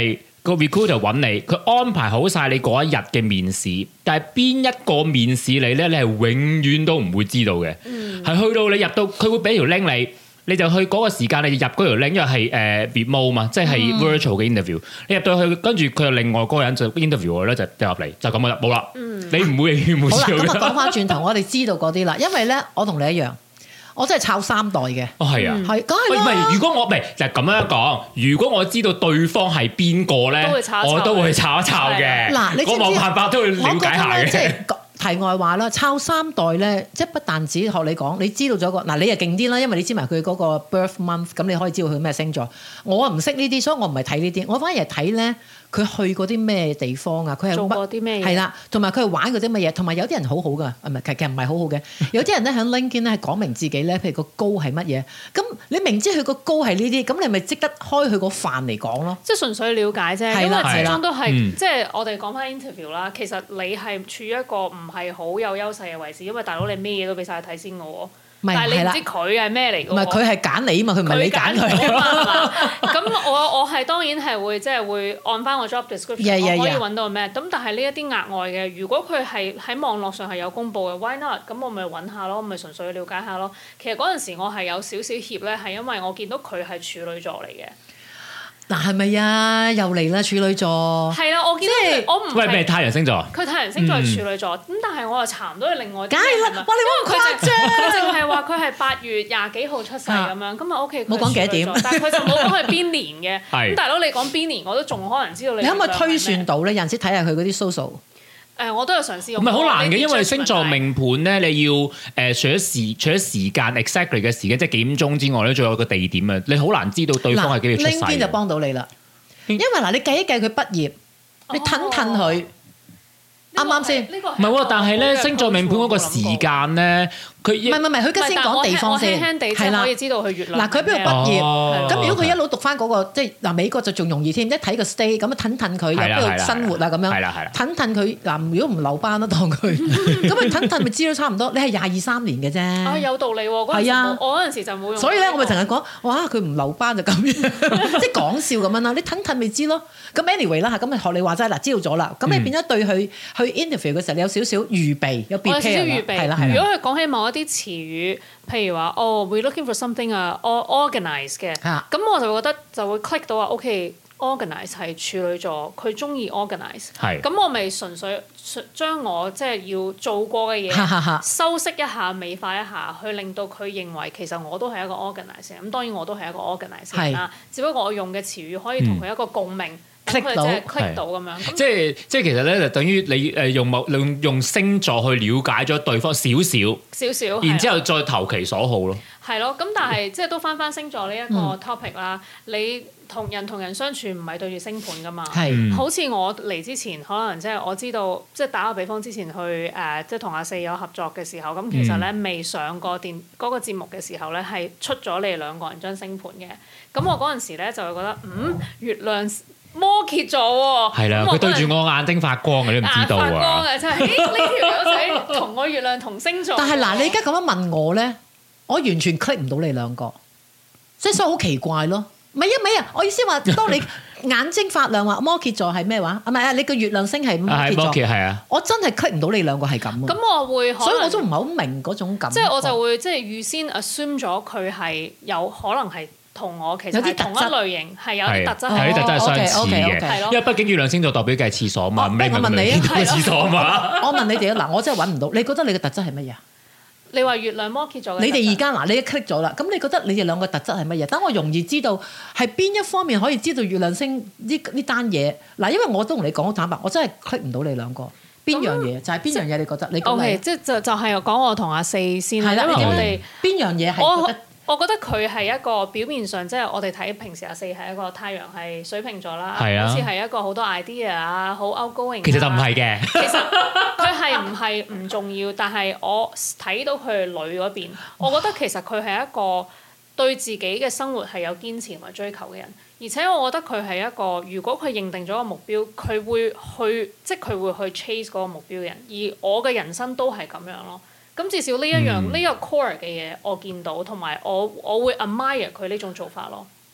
S3: 個 recruiter 揾你，佢安排好晒你嗰一日嘅面試，但係邊一個面試你咧，你係永遠都唔會知道嘅。係、嗯、去到你入到，佢會俾條 link 你，你就去嗰個時間你就入嗰條 link，因為係誒 remote 嘛，即係 virtual 嘅 interview。你入到去，跟住佢又另外嗰個人就 interview 我咧，就入嚟就咁啦，冇啦。嗯、你唔會永遠冇知道。
S2: 好啦，咁啊講翻轉頭，我哋知道嗰啲啦，因為咧，我同你一樣。我真係抄三代嘅。
S3: 哦，係啊，
S2: 係，梗係啦。
S3: 唔係，如果我唔係就係咁樣講，如果我知道對方係邊個咧，我都會抄一抄嘅。嗱，你知唔知？我冇辦法都會了解下嘅。即係
S2: 題外話啦，抄三代咧，即係不但止學你講，你知道咗個嗱，你又勁啲啦，因為你知埋佢嗰個 birth month，咁你可以知道佢咩星座。我唔識呢啲，所以我唔係睇呢啲，我反而係睇咧。佢去過啲咩地方啊？佢係
S4: 做過啲咩嘢？
S2: 係啦，同埋佢係玩過啲乜嘢？同埋有啲人好好噶，唔係其實唔係好好嘅。有啲人咧喺 LinkedIn 咧係講明自己咧，譬如個高係乜嘢。咁你明知佢個高係呢啲，咁你咪即刻開佢個範嚟講咯。
S4: 即係純粹了解啫，因為始終都係、
S3: 嗯、
S4: 即係我哋講翻 interview 啦。其實你係處於一個唔係好有優勢嘅位置，因為大佬你咩嘢都俾晒佢睇先嘅喎。但係你唔知佢係咩嚟嘅喎？唔係佢係揀你啊嘛，佢唔係你揀佢啊嘛。咁我我係當然係會即係會按翻個 job description， yeah, yeah, yeah. 我可以揾到咩？咁但係呢一啲額外嘅，如果佢係喺網絡上係有公佈嘅 ，why not？咁我咪揾下咯，咪純粹了解下咯。其實嗰陣時我係有少少怯咧，係因為我見到佢係處女座嚟嘅。嗱係咪啊？又嚟啦處女座。係啦，我見到佢，我唔係。喂，咩太陽星座？佢太陽星座係處女座，咁、嗯、但係我又查唔到佢另外啲。梗係啦，哇！你冇咁誇張。佢淨係話佢係八月廿幾號出世咁樣，咁啊 OK。冇講幾多點，但係佢就冇講係邊年嘅。咁大佬你講邊年，我都仲可能知道你。你可唔可以推算到咧？有陣時睇下佢嗰啲 social。誒、呃，我都有嘗試用。唔係好難嘅，因為星座命盤咧，你要誒、呃、除咗時除咗時間 exactly 嘅時間，即係幾點鐘之外咧，仲有個地點啊！你好難知道對方係幾月出世。LinkedIn就幫到你啦，因為嗱，你計一計佢畢業，你褪褪佢。啱啱先？唔係喎，但係咧星座命盤嗰個時間咧，佢唔係唔係，佢而家先講地方先，係啦，可以知道佢月亮。嗱，佢喺邊度畢業？咁如果佢一路讀翻嗰個，即係嗱美國就仲容易添，一睇個 stay 咁樣褪褪佢，入邊度生活啊咁樣。係啦係啦。褪褪佢嗱，如果唔留班啦，當佢咁佢褪褪咪知道差唔多。你係廿二三年嘅啫。啊，有道理喎！係啊，我嗰陣時就冇用。所以咧，我咪成日講，哇！佢唔留班就咁樣，即係講笑咁樣啦。你褪褪咪知咯。咁 anyway 啦嚇，咁咪學你話齋嗱，知道咗啦。咁你變咗對佢去 interview 嘅時候，你有少少預備，有 prepare 啦，係啦係啦。如果佢講起某一啲詞語，譬如話哦 ，we looking for something 啊，organize 嘅，咁我就會覺得就會 click 到話 ，OK，organize 係處女座，佢中意 organize，咁我咪純粹將我即係要做過嘅嘢修飾一下、美化一下，去令到佢認為其實我都係一個 organizer。咁當然我都係一個 organizer 啦，只不過我用嘅詞語可以同佢一個共鳴。click 到 click 到咁樣，即係即係其實咧就等於你誒用某用用星座去了解咗對方少少少少，然之後再投其所好咯。係咯，咁但係即係都翻翻星座呢一個 topic 啦。嗯、你同人同人相處唔係對住星盤噶嘛？係、嗯，好似我嚟之前，可能即係我知道，即係打個比方，之前去誒即係同阿四有合作嘅時候，咁其實咧未上過電嗰個節目嘅時候咧，係出咗你哋兩個人張星盤嘅。咁我嗰陣時咧就會覺得，嗯，月亮摩羯座喎，係啦，佢對住我眼睛發光嘅，你唔知道啊！發光嘅真係，呢條友仔同我月亮同星座。但係嗱，你而家咁樣問我咧，我完全 click 唔到你兩個，即係所以好奇怪咯。唔係啊，唔係啊，我意思話，當你眼睛發亮話摩羯座係咩話？啊唔係啊，你個月亮星係摩羯座，係啊，我真係 click 唔到你兩個係咁啊。咁我會，所以我都唔係好明嗰種感覺。即係我就會即係預先 assume 咗佢係有可能係。同我其實係同一類型，係有啲特質，係啲特質係相似嘅。因為畢竟月亮星座代表嘅係廁所嘛，咩？我問你啊，廁所嘛。我問你哋啊，嗱，我真係揾唔到。你覺得你嘅特質係乜嘢？你話月亮摩羯座，你哋而家嗱，你一 click 咗啦，咁你覺得你哋兩個特質係乜嘢？等我容易知道係邊一方面可以知道月亮星呢呢單嘢。嗱，因為我都同你講好坦白，我真係 click 唔到你兩個。邊樣嘢就係邊樣嘢？你覺得？你講嚟，即係就就係講我同阿四先啦。因為我哋邊樣嘢係覺得？我覺得佢係一個表面上，即係我哋睇平時阿四係一個太陽係水瓶座啦，好似係一個好多 idea 啊，好 outgoing。其實就唔係嘅。其實佢係唔係唔重要，但係我睇到佢係女嗰邊，我覺得其實佢係一個對自己嘅生活係有堅持同埋追求嘅人，而且我覺得佢係一個如果佢認定咗個目標，佢會去即係佢會去 chase 嗰個目標嘅人，而我嘅人生都係咁樣咯。咁至少呢一樣呢、嗯、個 core 嘅嘢我見到，同埋我我會 admire 佢呢種做法咯。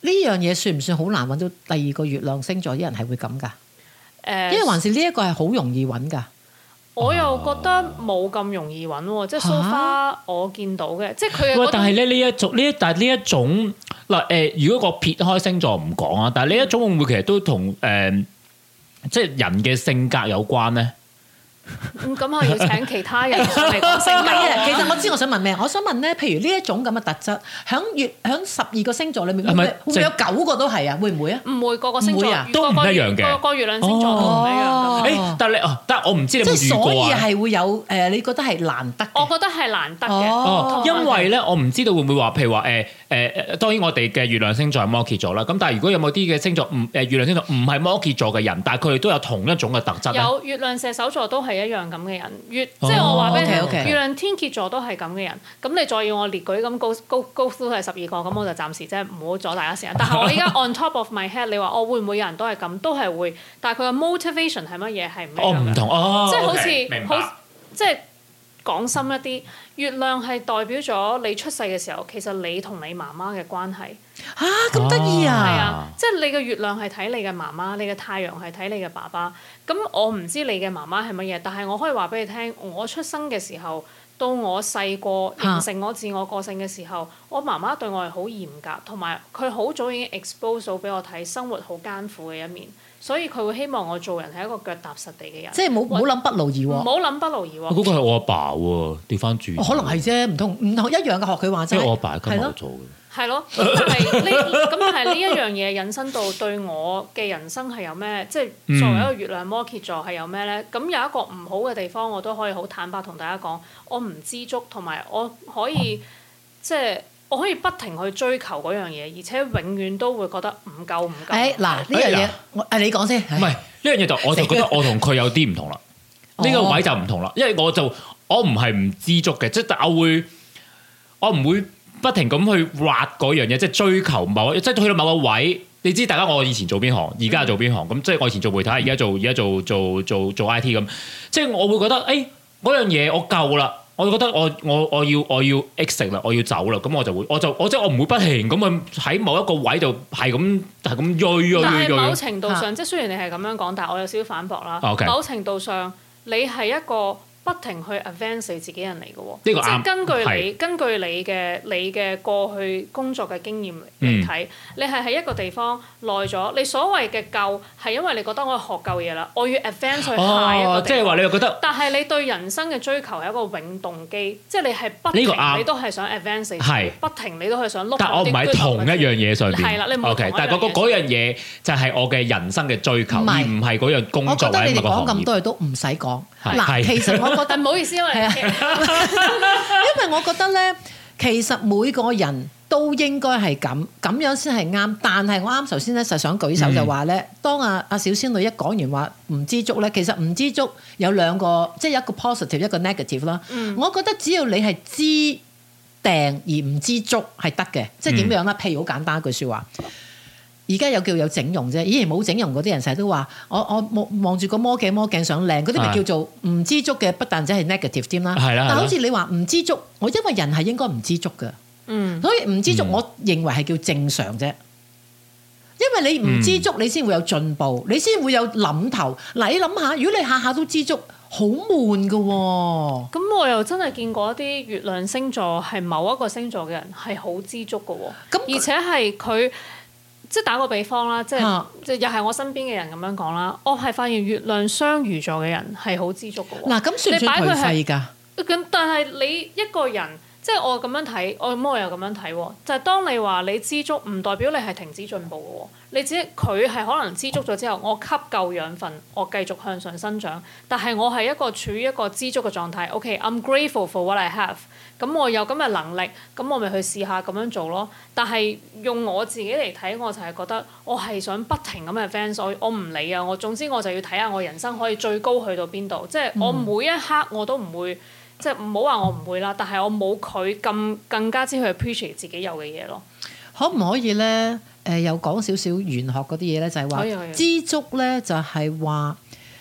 S2: 呢樣嘢算唔算好難揾到第二個月亮星座啲人係會咁㗎？
S4: 誒，
S2: 因為還是呢一個係好容易揾㗎。
S4: 我又覺得冇咁容易揾喎，即係 so far 我見到嘅，即係佢。
S3: 喂，但係咧呢一種呢一但係呢一種嗱誒，如果個撇開星座唔講啊，但係呢一種會唔會其實都同誒即係人嘅性格有關咧？
S4: 咁咁我要請其他人上嚟講性格。
S2: 其實我知我想問咩？我想問咧，譬如呢一種咁嘅特質，響月響十二個星座裏面，會唔會會唔會有九個都係啊？會唔會啊？
S4: 唔會，個個星座
S3: 都唔一樣嘅。
S4: 個個月亮星座都唔一樣。
S3: 誒，但係你哦，但係我唔知你有冇遇過啊？
S2: 即係所以係會有誒，你覺得係難得？
S4: 我覺得係難得嘅。
S3: 哦，因為咧，我唔知道會唔會話，譬如話誒誒誒，當然我哋嘅月亮星座係摩羯座啦。咁但係如果有冇啲嘅星座唔誒月亮星座唔係摩羯座嘅人，但係佢哋都有同一種嘅特質咧？
S4: 有月亮射手座都係一樣咁嘅人。月即係我話俾你聽，
S2: 哦 okay, okay.
S4: 月亮天蠍座都係咁嘅人。咁你再要我列舉咁高高高都係十二個，咁我就暫時即係唔好阻大家時間。但係我依家 on top of my head，你話我會唔會有人都係咁？都係會，但係佢嘅 motivation 係乜嘢係唔一樣嘅。
S3: 哦，唔同哦，
S4: 即係好似
S3: okay,
S4: 好即係講深一啲，月亮係代表咗你出世嘅時候，其實你同你媽媽嘅關係。
S2: 嚇咁得意啊！
S4: 係啊，即係你嘅月亮係睇你嘅媽媽，你嘅太陽係睇你嘅爸爸。咁我唔知你嘅媽媽係乜嘢，但係我可以話俾你聽，我出生嘅時候到我細個形成我自我個性嘅時候，我媽媽對我係好嚴格，同埋佢好早已經 expose 到俾我睇生活好艱苦嘅一面，所以佢會希望我做人係一個腳踏實地嘅人。
S2: 即係冇唔好諗不勞而獲。
S4: 唔好諗不勞而獲。
S3: 嗰個係我阿爸喎，調翻轉。
S2: 可能係啫，唔同唔同一樣嘅學佢話齋。
S3: 即係我阿爸係金牛座嘅。
S4: 係咯，咁但係呢咁但係呢一樣嘢引申到對我嘅人生係有咩？即係作為一個月亮摩羯座係有咩咧？咁有一個唔好嘅地方，我都可以好坦白同大家講，我唔知足，同埋我可以即係我可以不停去追求嗰樣嘢，而且永遠都會覺得唔夠唔夠。
S2: 誒嗱呢樣嘢，我誒你講先。
S3: 唔係呢樣嘢就我就覺得我同佢有啲唔同啦。呢個位就唔同啦，因為我就我唔係唔知足嘅，即係我會我唔會。不停咁去挖嗰樣嘢，即係追求某，即係去到某個位。你知大家我以前做邊行，而家做邊行咁，即係我以前做媒體，而家做而家做做做做 I T 咁。即係我會覺得，誒嗰樣嘢我夠啦，我覺得我我我要我要 exit 啦，我要走啦，咁我就會我就我即係我唔會不停咁去喺某一個位度係咁係咁銳銳銳。
S4: 但係某程度上，即係雖然你係咁樣講，但係我有少少反駁啦。
S3: Okay.
S4: 某程度上，你係一個不停去 advance 你自己人嚟嘅喎，
S3: 呢個啱，
S4: 即係根據你
S3: 係
S4: 根據你嘅你嘅過去工作嘅經驗嚟睇，
S3: 嗯、
S4: 你係喺一個地方耐咗，你所謂嘅夠係因為你覺得我學夠嘢啦，我要 advance 去下一個地方。
S3: 哦，即係話你又覺得，
S4: 但係你對人生嘅追求係一個永動機，即係你係不停你都係想 advance，
S3: 係
S4: 不停你都係想碌。
S3: 但我唔係同一樣嘢上邊。
S4: 係啦，你唔係
S3: OK，但係嗰嗰樣嘢就係我嘅人生嘅追求，而唔係嗰樣工作或者某個行業。我覺得你哋講咁多嘢都唔使講。嗱，其實我覺得
S4: 唔好意思，因為
S2: 係啊，因為我覺得咧，其實每個人都應該係咁，咁樣先係啱。但係我啱頭先咧，就想舉手就話咧，嗯、當阿阿小仙女一講完話唔知足咧，其實唔知足有兩個，即係一個 positive 一個 negative 啦。嗯、我覺得只要你係知訂而唔知足係得嘅，即係點樣咧？譬如好簡單一句説話。而家有叫有整容啫，以前冇整容嗰啲人成日都話：我我望望住個魔鏡，魔鏡想靚，嗰啲咪叫做唔知足嘅，不但止係 negative 添啦。係啦，但好似你話唔知足，我因為人係應該唔知足嘅，嗯，所以唔知足，我認為係叫正常啫。因為你唔知足，你先會有進步，你先會有諗頭。嗱，你諗下，如果你下下都知足，好悶噶喎。
S4: 咁我又真係見過一啲月亮星座係某一個星座嘅人係好知足噶喎，咁而且係佢。即係打個比方啦，即係即係又係我身邊嘅人咁樣講啦。我係發現月亮雙魚座嘅人係好知足嘅喎。嗱，咁算唔算頹廢㗎？咁但係你一個人，即係我咁樣睇，我咁我又咁樣睇喎。就係當你話你知足，唔代表你係停止進步嘅喎。你只佢係可能知足咗之後，我吸夠養分，我繼續向上生長。但係我係一個處於一個知足嘅狀態。OK，I'm grateful for what I have。咁我有咁嘅能力，咁我咪去試下咁樣做咯。但係用我自己嚟睇，我就係覺得我係想不停咁嘅 advance，我我唔理啊！我總之我就要睇下我人生可以最高去到邊度。即係我每一刻我都唔會，即係唔好話我唔會啦。但係我冇佢咁更加之去 appreciate 自己有嘅嘢咯。
S2: 可唔可以咧？誒、呃，又講少少玄學嗰啲嘢咧，就係話知足咧，就係話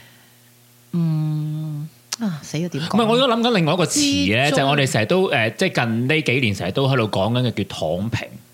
S2: 嗯。啊死咗點講？唔係，
S3: 我而家諗緊另外一個詞咧，就係我哋成日都誒，即係近呢幾年成日都喺度講緊嘅叫躺平。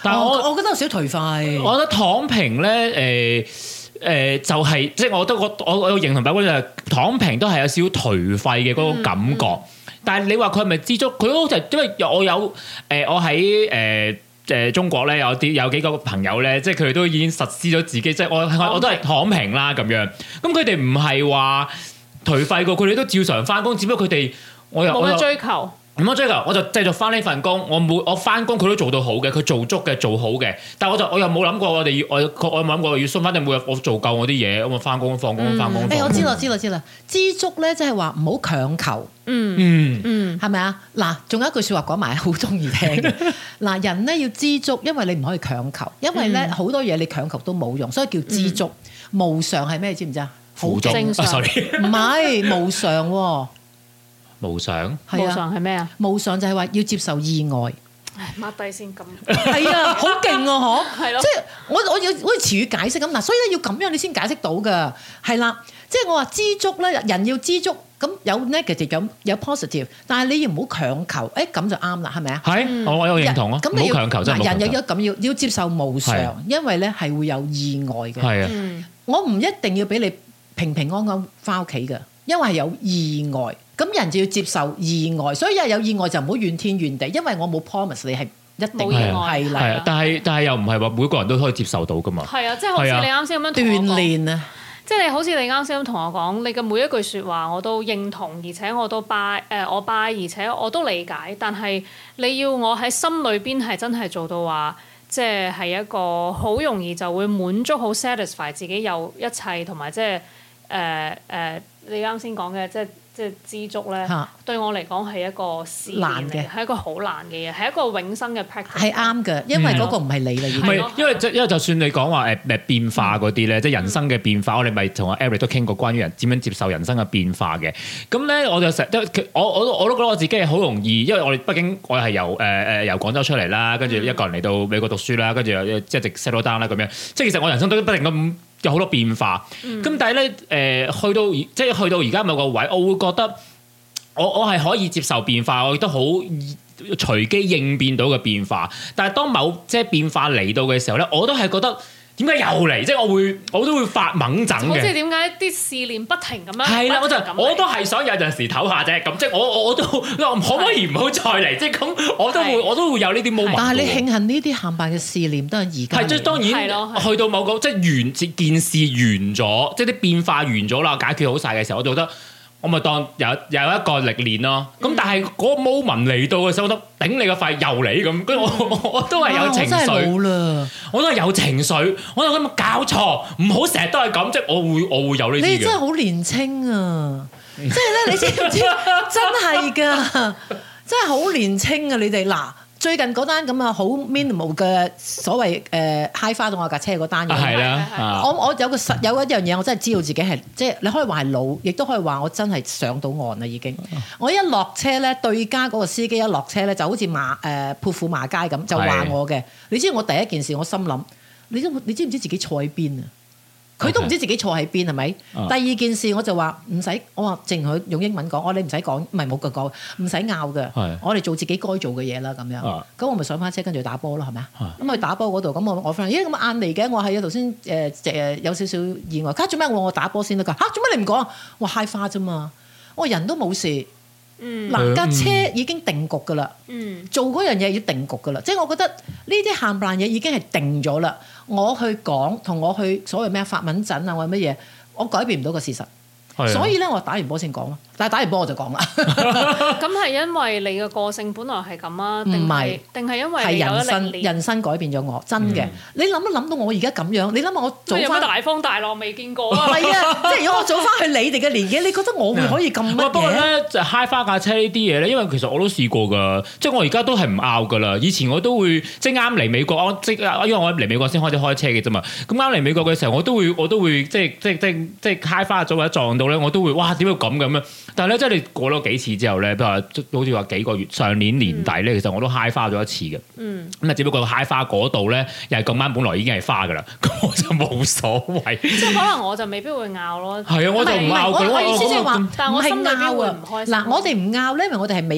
S3: 但係我、
S2: 哦、我覺得有少頹廢。
S3: 我覺得躺平咧誒誒就係、是、即係我覺得我我我認同百君就係躺平都係有少少頹廢嘅嗰個感覺。嗯嗯、但係你話佢係咪知足？佢好似因為我有誒、呃、我喺誒。呃誒中國咧有啲有幾個朋友咧，即係佢哋都已經實施咗自己，即係我我都係躺平啦咁樣。咁佢哋唔係話頹廢過，佢哋都照常翻工，只不過佢哋我又
S4: 冇乜追求，
S3: 唔乜追求，我就繼續翻呢份工。我每我翻工佢都做到好嘅，佢做足嘅做好嘅。但係我就我又冇諗過我哋要我我有冇諗過要送翻定每日我做夠我啲嘢，咁我翻工放工翻工。
S2: 誒我知啦知啦知啦，知足咧即係話唔好強求。
S4: 嗯
S3: 嗯
S2: 嗯，係咪啊？嗱，仲有一句説話講埋，好中意聽嘅。嗱，人咧要知足，因為你唔可以強求，因為咧好、嗯、多嘢你強求都冇用，所以叫知足。嗯、無常係咩？你知唔知啊？
S3: 好正常。sorry，
S2: 唔係無常喎、哦。
S3: 無常。
S2: 係啊。
S4: 無常係咩啊？
S2: 無常就係話要接受意外。
S4: 唉，抹低先咁。
S2: 係啊，好勁啊！嗬。係咯。即係我我要好似詞語解釋咁嗱，所以咧要咁樣你先解釋到㗎。係啦，即係我話知足咧，人要知足。咁有 negative 有有 positive，但係你要唔好強求，誒咁就啱啦，係咪啊？
S3: 係，我我有認同啊。唔好強求真係。
S2: 人有有咁要要接受無常，因為咧係會有意外嘅。
S3: 係啊，
S2: 我唔一定要俾你平平安安翻屋企嘅，因為係有意外。咁人就要接受意外，所以一有意外就唔好怨天怨地，因為我冇 promise 你係一定係啦。
S3: 係啊，但係但係又唔係話每個人都可以接受到噶嘛。
S4: 係啊，即係好似你啱先咁樣
S2: 鍛鍊啊。
S4: 即係你好似你啱先咁同我講，你嘅每一句説話我都認同，而且我都 buy 誒我 buy，而且我都理解。但係你要我喺心裏邊係真係做到話，即係係一個好容易就會滿足、好 satisfy 自己有一切，同埋即係誒誒你啱先講嘅即係。即係知足咧，對我嚟講係一個試驗嚟嘅，係一個好難嘅嘢，係一個永生嘅 practice。係啱嘅，因為嗰個唔係你啦，已經。唔係，因為因為就算你講話誒誒變化嗰啲咧，即係人生嘅變化，我哋咪同阿 Eric 都傾過關於人點樣接受人生嘅變化嘅。咁咧，我就成日我我我都覺得我自己係好容易，因為我哋畢竟我係由誒誒由廣州出嚟啦，跟住一個人嚟到美國讀書啦，跟住又即係直 settle down 啦咁樣。即係其實我人生都不停咁。有好多變化，咁、嗯、但係咧，誒、呃、去到即係去到而家某個位，我會覺得我我係可以接受變化，我亦都好隨機應變到嘅變化。但係當某即係變化嚟到嘅時候咧，我都係覺得點解又嚟？即係我會我都會發猛整嘅。即係點解啲試煉不停咁樣？係啦，我就我都係想有陣時唞下啫。咁即係我我，我都可唔可以唔好再嚟？即係咁，我都會我都會有呢啲 moment。但係你慶幸呢啲冚唪唥嘅試煉都係而家。係即係當然去到某個即係完件事完咗，即係啲變化完咗啦，解決好晒嘅時候，我就覺得。我咪當有有一個歷練咯，咁、嗯、但係嗰個 moment 嚟到嘅時候，我覺得頂你個肺又嚟咁，跟住我我，我都係有情緒，我真係冇啦，我都係有情緒，我就咁搞錯，唔好成日都係咁，即係我會我會有呢啲嘅。你真係好年青啊！即係咧，你知唔知？真係㗎，真係好年青啊！你哋嗱。最近嗰單咁啊，好 minimal 嘅所謂誒揩花到我架車嗰單嘢，係啦，我我有個實有一樣嘢，我真係知道自己係即係你可以話係老，亦都可以話我真係上到岸啦已經。我一落車咧，對家嗰個司機一落車咧，就好似馬誒潑婦罵街咁，就話我嘅。你知我第一件事，我心諗，你都你知唔知自己坐喺邊啊？佢都唔知自己坐喺邊係咪？第二件事我就話唔使，我話淨佢用英文講，我你唔使講，唔係冇句講，唔使拗嘅。我哋做自己該做嘅嘢啦，咁樣。咁我咪上翻車跟住打波咯，係咪啊？咁去打波嗰度，咁我我 friend 咦咁晏嚟嘅，我係啊頭先誒誒有少少意外，家做咩？我我打波先得㗎。嚇做咩你唔講？我揩花啫嘛，我人都冇事。嗱架車已經定局㗎啦，嗯、做嗰樣嘢要定局㗎啦，即係我覺得呢啲冚唪唥嘢已經係定咗啦。我去講同我去所謂咩發文陣啊，或者乜嘢，我改變唔到個事實。所以咧，我打完波先講咯。但係打完波我就講啦。咁係因為你嘅個性本來係咁啊？定係定係因為係人生人生改變咗我，真嘅。嗯、你諗一諗到我而家咁樣，你諗下我早翻大風大浪未見過啊！係啊，即係如果我早翻去你哋嘅年紀，你覺得我會可以咁乜嘢？不過咧，就揩花架車呢啲嘢咧，因為其實我都試過㗎，即係我而家都係唔拗㗎啦。以前我都會即係啱嚟美國，即係因為我嚟美國先開始開車嘅啫嘛。咁啱嚟美國嘅時候，我都會我都會即係即係即係即係揩花咗或者撞到咧，我都會哇點解咁咁樣？但係咧，即係你過咗幾次之後咧，譬如話好似話幾個月，上年年底咧，其實我都揩花咗一次嘅。嗯。咁啊，只不過揩花嗰度咧，又係咁啱，本來已經係花㗎啦，咁我就冇所謂。即係可能我就未必會拗咯。係啊，我就唔拗佢咯。我意思即係話，但係我心裏邊會唔開心。嗱，我哋唔拗咧，因為我哋係美國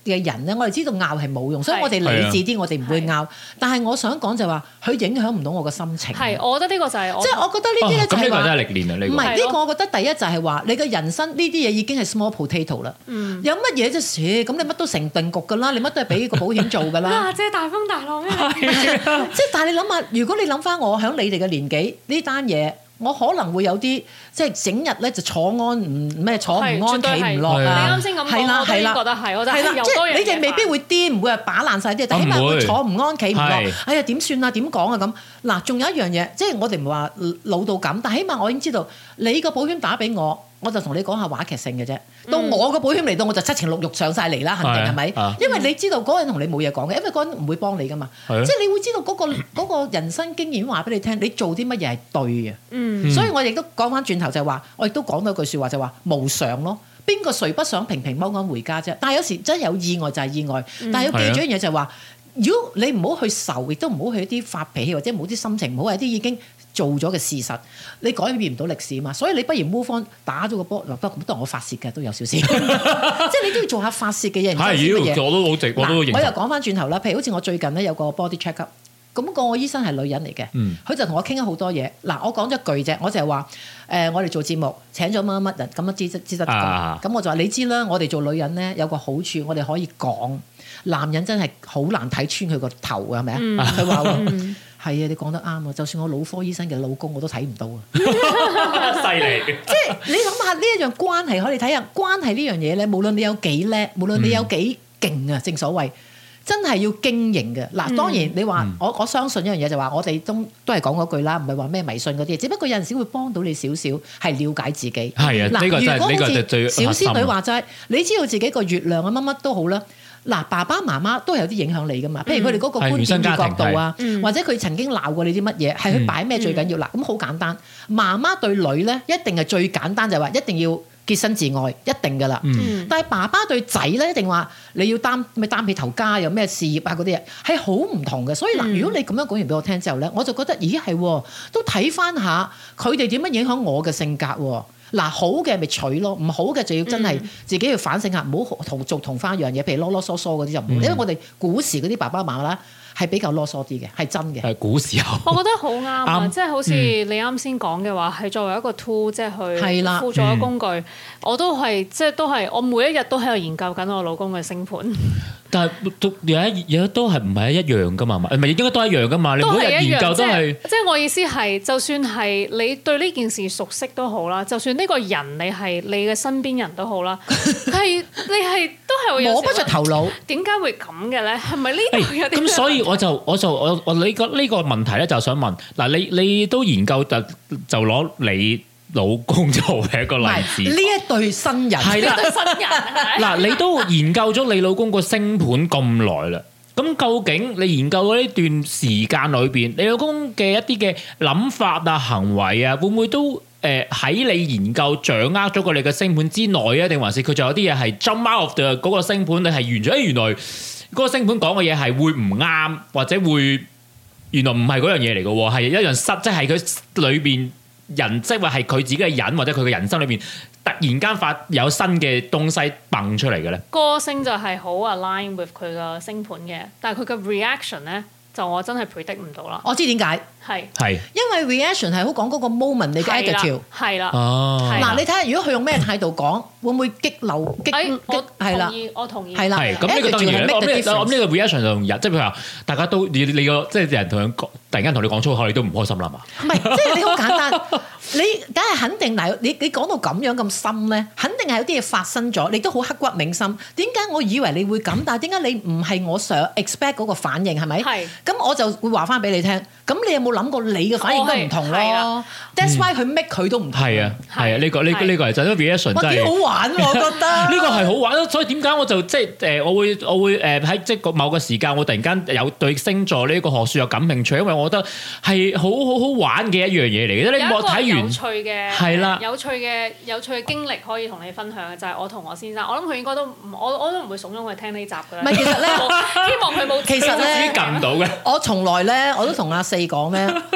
S2: 嘅人咧，我哋知道拗係冇用，所以我哋理智啲，我哋唔會拗。但係我想講就話，佢影響唔到我嘅心情。
S4: 係，我覺得呢個就係我
S2: 即係我覺得呢啲咧就係話，
S3: 咁呢個真係歷練啊！呢個
S2: 唔係呢個，我覺得第一就係話，你嘅人生呢啲嘢已經係 small potato 啦。有乜嘢啫？咁你乜都成定局㗎啦，你乜都係俾個保險做㗎啦。
S4: 啊，即係大風大浪咩？
S2: 即係但係你諗下，如果你諗翻我喺你哋嘅年紀呢單嘢。我可能會有啲即係整日咧就坐安唔咩坐唔安企唔落啊！
S4: 你啱先咁講，我都覺得係，我就係啦，
S2: 即係你哋未必會癲，唔會係把爛晒啲，但起碼會坐唔安企唔落。哎呀點算啊？點講啊咁？嗱，仲有一樣嘢，即係我哋唔係話老到咁，但係起碼我已經知道你個保險打俾我。我就同你講下話劇性嘅啫，到我個保險嚟到我就七情六欲上晒嚟啦，肯定係咪？因為你知道嗰個人同你冇嘢講嘅，因為嗰個人唔會幫你噶嘛，即係你會知道嗰個嗰個人生經驗話俾你聽，你做啲乜嘢係對嘅。嗯，所以我亦都講翻轉頭就係話，我亦都講到一句説話就係話無常咯。邊個誰不想平平安安回家啫？但係有時真係有意外就係意外，但係要記住一樣嘢就係話，如果你唔好去愁，亦都唔好去一啲發脾氣或者冇啲心情，唔好係啲已經做咗嘅事實，你改變唔到歷史啊嘛，所以你不如 move on 打咗個波，嗱，不過都係我發泄嘅，都有少少，即係你都要做下發泄嘅嘢。係，
S3: 妖，我都好直，我都認同。
S2: 我又講翻轉頭啦，譬如好似我最近咧有個 body check up，咁個醫生係女人嚟嘅，佢、嗯、就同我傾咗好多嘢。嗱，我講咗一句啫，我就係話誒，我哋做節目請咗乜乜乜人咁樣知知得咁，咁、啊、我就話你知啦，我哋做女人咧有個好處，我哋可以講，男人真係好難睇穿佢個頭嘅，係咪啊？佢話喎。係啊，你講得啱啊！就算我腦科醫生嘅老公我都睇唔到啊！
S3: 犀利！
S2: 即係你諗下呢一樣關係，可以睇下關係呢樣嘢咧。無論你有幾叻，無論你有幾勁啊，正所謂真係要經營嘅。嗱，當然你話、嗯、我我相信一樣嘢就話，我哋都都係講嗰句啦，唔係話咩迷信嗰啲嘢，只不過有陣時會幫到你少少，係了解自己。係啊，呢、呢個真係呢個就最小仙女話齋，你知道自己個月亮啊乜乜都好啦。嗱，爸爸媽媽都係有啲影響你噶嘛，譬如佢哋嗰個觀點與角度啊，或者佢曾經鬧過你啲乜嘢，係佢擺咩最緊要嗱，咁好簡單。媽媽對女咧一定係最簡單，就係話一定要潔身自愛，一定噶啦。嗯、但係爸爸對仔咧一定話你要擔咩擔起頭家，有咩事業啊嗰啲嘢係好唔同嘅。所以嗱，如果你咁樣講完俾我聽之後咧，我就覺得咦係都睇翻下佢哋點樣影響我嘅性格喎。嗱，好嘅咪取咯，唔好嘅就要真係自己要反省下，唔好同做同翻一樣嘢，譬如囉囉嗦嗦嗰啲就唔好，嗯、因為我哋古時嗰啲爸爸媽媽啦係比較囉嗦啲嘅，係真嘅。係古時候，
S4: 我覺得好啱啊！即係好似你啱先講嘅話，係作為一個 tool，即係去輔助嘅工具，嗯、我都係即係都係我每一日都喺度研究緊我老公嘅星盤。
S3: 但係都有一有都係唔係一樣噶嘛？唔係應該都一樣噶嘛？你每日研究都係
S4: 即係我意思係，就算係你對呢件事熟悉都好啦，就算呢個人你係你嘅身邊人都好啦，係你係都係會有
S2: 摸不着頭腦。
S4: 點解會咁嘅咧？係咪呢度有啲
S3: 咁？所以我就我就我我呢個呢個問題咧，就想問嗱，你你都研究就就攞你老公做嘅一個例子，
S2: 呢一對新人
S3: 係啦，
S4: 對新人
S3: 嗱，你都研究咗你老公個星盤咁耐啦，咁究竟你研究咗呢段時間裏邊，你老公嘅一啲嘅諗法啊、行為啊，會唔會都誒喺你研究掌握咗個你嘅星盤之內啊？定還是佢仲有啲嘢係 jump out of the 嗰個星盤，你係完全誒原來嗰個星盤講嘅嘢係會唔啱，或者會原來唔係嗰樣嘢嚟嘅喎，係一樣失，即係佢裏邊。人即係話係佢自己嘅人，或者佢嘅人生裏邊突然間發有新嘅東西蹦出嚟嘅咧。
S4: 個性就係好 align with 佢個星盤嘅，但係佢嘅 reaction 咧就我真係 predict 唔到啦。
S2: 我知點解
S4: 係
S3: 係
S2: 因為 reaction 係好講嗰個 moment 你嘅 attitude
S4: 係啦。
S3: 哦，
S2: 嗱你睇下，如果佢用咩態度講，會唔會激流激？
S4: 我
S2: 係啦，
S4: 我同意。
S2: 係啦，
S3: 係咁呢個當然我諗呢個 reaction 就同人，即係譬如話大家都你你個即係人同人講，突然間同你講粗口，你都唔開心啦嘛？
S2: 唔係，即係你好簡單。你梗係肯定嗱，你你講到咁樣咁深咧，肯定係有啲嘢發生咗，你都好刻骨銘心。點解我以為你會咁，但係點解你唔係我想 expect 嗰個反應係咪？係。咁我就會話翻俾你聽。咁你有冇諗過你嘅反應都唔同咯 ？That's why 佢 make 佢都唔同。係啊，係啊，呢個呢呢個係真 reaction 真係。幾好玩喎，我覺得。呢個係好玩，所以點解我就即係誒，我會我會誒喺即係某個時間，我突然間有對星座呢個學説有感興趣，因為我覺得係好好好玩嘅一樣嘢嚟嘅。你我睇完。有趣嘅係啦，有趣嘅有趣嘅經歷可以同你分享嘅就係我同我先生，我諗佢應該都唔，我我都唔會慫恿佢聽呢集㗎啦。唔係，其實咧，希望佢冇。其實咧，自己撳到嘅。我從來咧，我都同阿四講咧，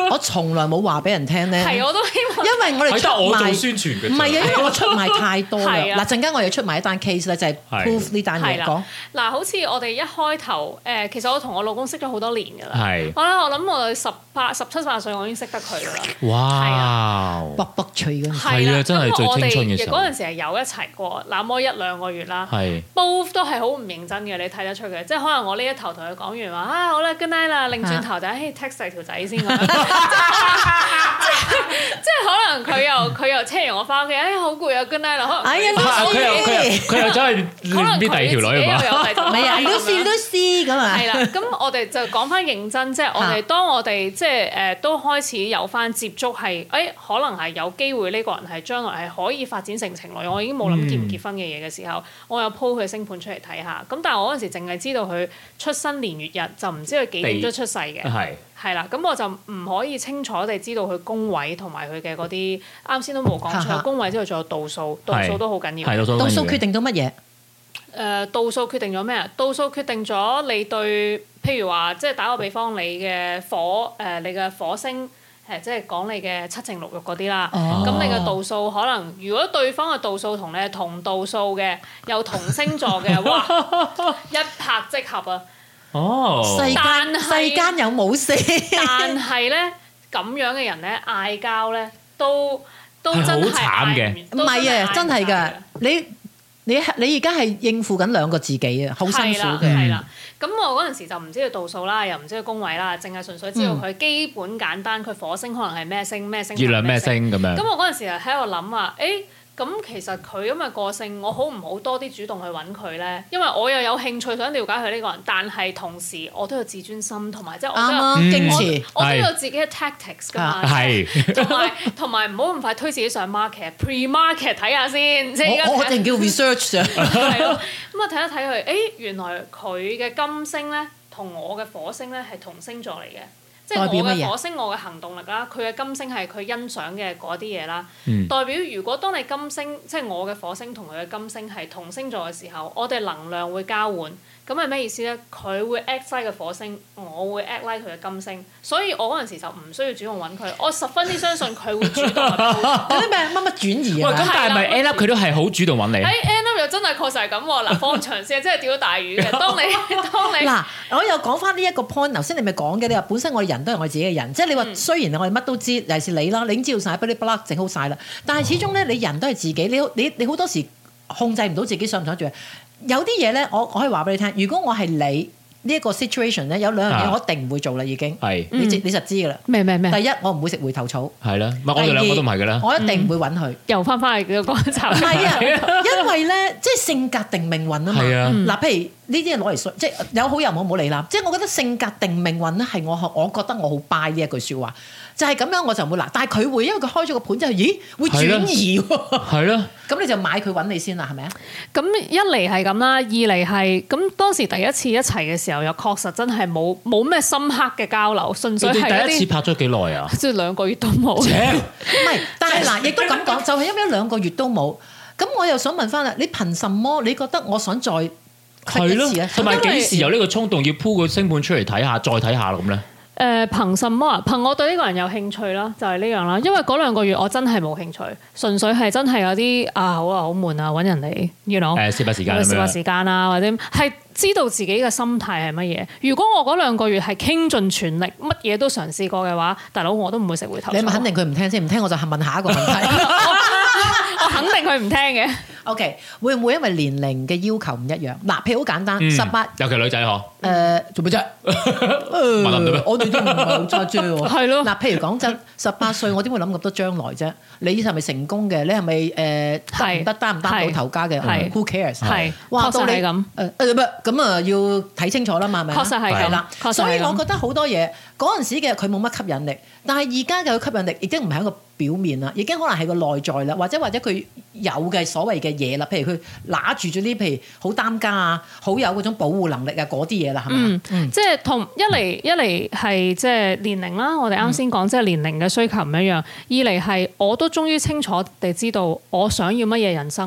S2: 我從來冇話俾人聽咧。
S4: 係，我都希望。
S2: 因為我哋出賣，
S3: 我做宣傳嘅。
S2: 唔係啊，因為我出賣太多啦。
S4: 係啊
S2: 嗱，陣間我要出賣一單 case 咧，就係 proof 呢單嘢講。
S4: 嗱，好似我哋一開頭誒，其實我同我老公識咗好多年㗎啦。
S3: 係。
S4: 我咧，我諗我十八、十七八歲，我已經識得佢㗎啦。
S3: 哇！
S2: 卜卜脆嗰陣時。
S3: 係啊，真係最青春嘅時候。
S4: 嗰陣時係有一齊過，那麼一兩個月啦。
S3: 係。
S4: both 都係好唔認真嘅，你睇得出嘅。即係可能我呢一頭同佢講完話啊，好啦 good night 啦，擰轉頭就誒 text 曬條仔先咁樣。即係可能佢又佢又車完我翻屋企，哎好攰啊 good night 啦。
S2: 哎呀，
S3: 佢又佢又佢又走去練啲第二條女啊嘛。
S2: 唔係啊，Lucy Lucy 咁啊。
S4: 係啦，咁我哋就講翻認真，即係我哋當我哋即係誒都開始有翻接觸，係誒可能係有機會呢個人係將來係可以發展成情侶，我已經冇諗結唔結婚嘅嘢嘅時候，我有 po 佢星盤出嚟睇下。咁但係我嗰陣時淨係知道佢出生年月日，就唔知佢幾點鐘出世嘅。係係啦，咁我就唔可以清楚地知道佢宮位同埋佢嘅嗰啲，啱先都冇講錯。宮位之後仲有度數，度數都好緊要。
S2: 度數決定到乜嘢？
S4: 誒度數決定咗咩啊？度數決定咗你對，譬如話，即係打個比方，你嘅火誒、呃，你嘅火星誒，即係講你嘅七情六慾嗰啲啦。咁、哦、你嘅度數可能，如果對方嘅度數同你係同度數嘅，又同星座嘅，哇，一拍即合啊！
S3: 哦，
S2: 世間世間有冇事？
S4: 但係咧，咁樣嘅人咧，嗌交咧，都都真係
S3: 好慘嘅。
S2: 唔係啊，真係㗎，你。你你而家係應付緊兩個自己啊，好辛苦嘅。
S4: 係啦，咁我嗰陣時就唔知佢度數啦，又唔知佢宮位啦，淨係純粹知道佢基本簡單，佢火星可能係咩星咩星，
S3: 月亮咩星咁樣。
S4: 咁我嗰陣時就喺度諗話，誒咁其實佢咁嘅個性，我好唔好多啲主動去揾佢咧？因為我又有興趣想了解佢呢個人，但係同時我都有自尊心，同埋即係我都有矜持，我都有自己嘅 tactics 㗎嘛。係，同埋同埋唔好咁快推自己上 market，pre market 睇下先。即係
S2: 我我淨叫 research 啊。
S4: 係咯，咁啊睇一睇佢，誒原來佢嘅金星咧，同我嘅火星咧係同星座嚟嘅。即係我嘅火星，我嘅行動力啦，佢嘅金星係佢欣賞嘅嗰啲嘢啦。嗯、代表如果當你金星，即係我嘅火星同佢嘅金星係同星座嘅時候，我哋能量會交換。咁係咩意思咧？佢會 act like 嘅火星，我會 act like 佢嘅金星。所以我嗰陣時就唔需要主動揾佢，我十分之相信佢會主動。
S2: 嗰啲咩乜乜轉移啊？
S3: 喂，咁但係咪 end up 佢都係好主動揾你？
S4: 喺 end up 又真係確實係咁喎。嗱，放長線真係釣到大魚嘅。當你當你
S2: 嗱，我又講翻呢一個 point。頭先你咪講嘅，你話本身我哋人都係我自己嘅人，即係你話雖然我哋乜都知，尤其是你啦，你已經知道晒，不哩不啦整好晒啦。但係始終咧，你人都係自己，你你你好多時控制唔到自己想唔想做。有啲嘢咧，我我可以話俾你聽。如果我係你呢一個 situation 咧，有兩樣嘢我一定唔會做啦，已經。係。你你實知㗎啦。咩咩咩？第一，我唔會食回頭草。係啦。唔係我哋兩個都唔係㗎啦。我一定唔會揾佢。又翻返去個講習。唔係啊，因為咧，即係性格定命運啊嘛。係啊。嗱，譬如呢啲嘢攞嚟說，即係有好有唔好，唔好理啦。即係我覺得性格定命運咧，係我我覺得我好 buy 呢一句説話。就係咁樣我就唔會嗱，但係佢會因為佢開咗個盤之後，咦會轉移喎。係咯。咁你就買佢揾你先啦，係咪啊？咁
S4: 一嚟係咁啦，二嚟係咁當時第一次一齊嘅時候，又確實真係冇冇咩深刻嘅交流，純粹係一啲。第一次拍咗幾耐啊？即係兩個月都冇。唔係，但係嗱，亦都咁講，就係因為兩個月都冇。咁我又想問翻啦，你憑什麼？你覺得我想再係咯？同埋幾時有呢個衝動要鋪個星盤出嚟睇下，再睇下咁咧？誒、呃、憑什麼啊？憑我對呢個人有興趣啦，就係、是、呢樣啦。因為嗰兩個月我真係冇興趣，純粹係真係有啲啊好啊好悶啊，揾人嚟，you know 誒消化時間，消化時間啊，或者係知道自己嘅心態係乜嘢。如果我嗰兩個月係傾盡全力，乜嘢都嘗試過嘅話，大佬我都唔會食回頭草。你咪肯定佢唔聽先，唔聽我就問下一個問題。我肯定佢唔聽嘅。OK， 會唔會因為年齡嘅要求唔一樣？嗱，譬如好簡單，十八、嗯，尤其女仔嗬。誒，做咩啫？我哋都唔係好揸啫喎。係咯。嗱，譬如講真，十八歲我點會諗咁多將來啫？你係咪成功嘅？你係咪誒得唔得擔唔擔到頭家嘅？Who cares？係。話到你咁誒誒咁啊，要睇清楚啦嘛，係咪？確實係咁。係啦。所以我覺得好多嘢嗰陣時嘅佢冇乜吸引力，但係而家嘅吸引力已經唔係一個表面啦，已經可能係個內在啦，或者或者佢有嘅所謂嘅嘢啦，譬如佢拿住咗啲，譬如好擔家啊，好有嗰種保護能力啊，嗰啲嘢啦，係咪？嗯嗯、即係同一嚟一嚟係即係年齡啦，我哋啱先講即係年齡嘅需求唔一樣。二嚟係我都終於清楚地知道我想要乜嘢人生咯。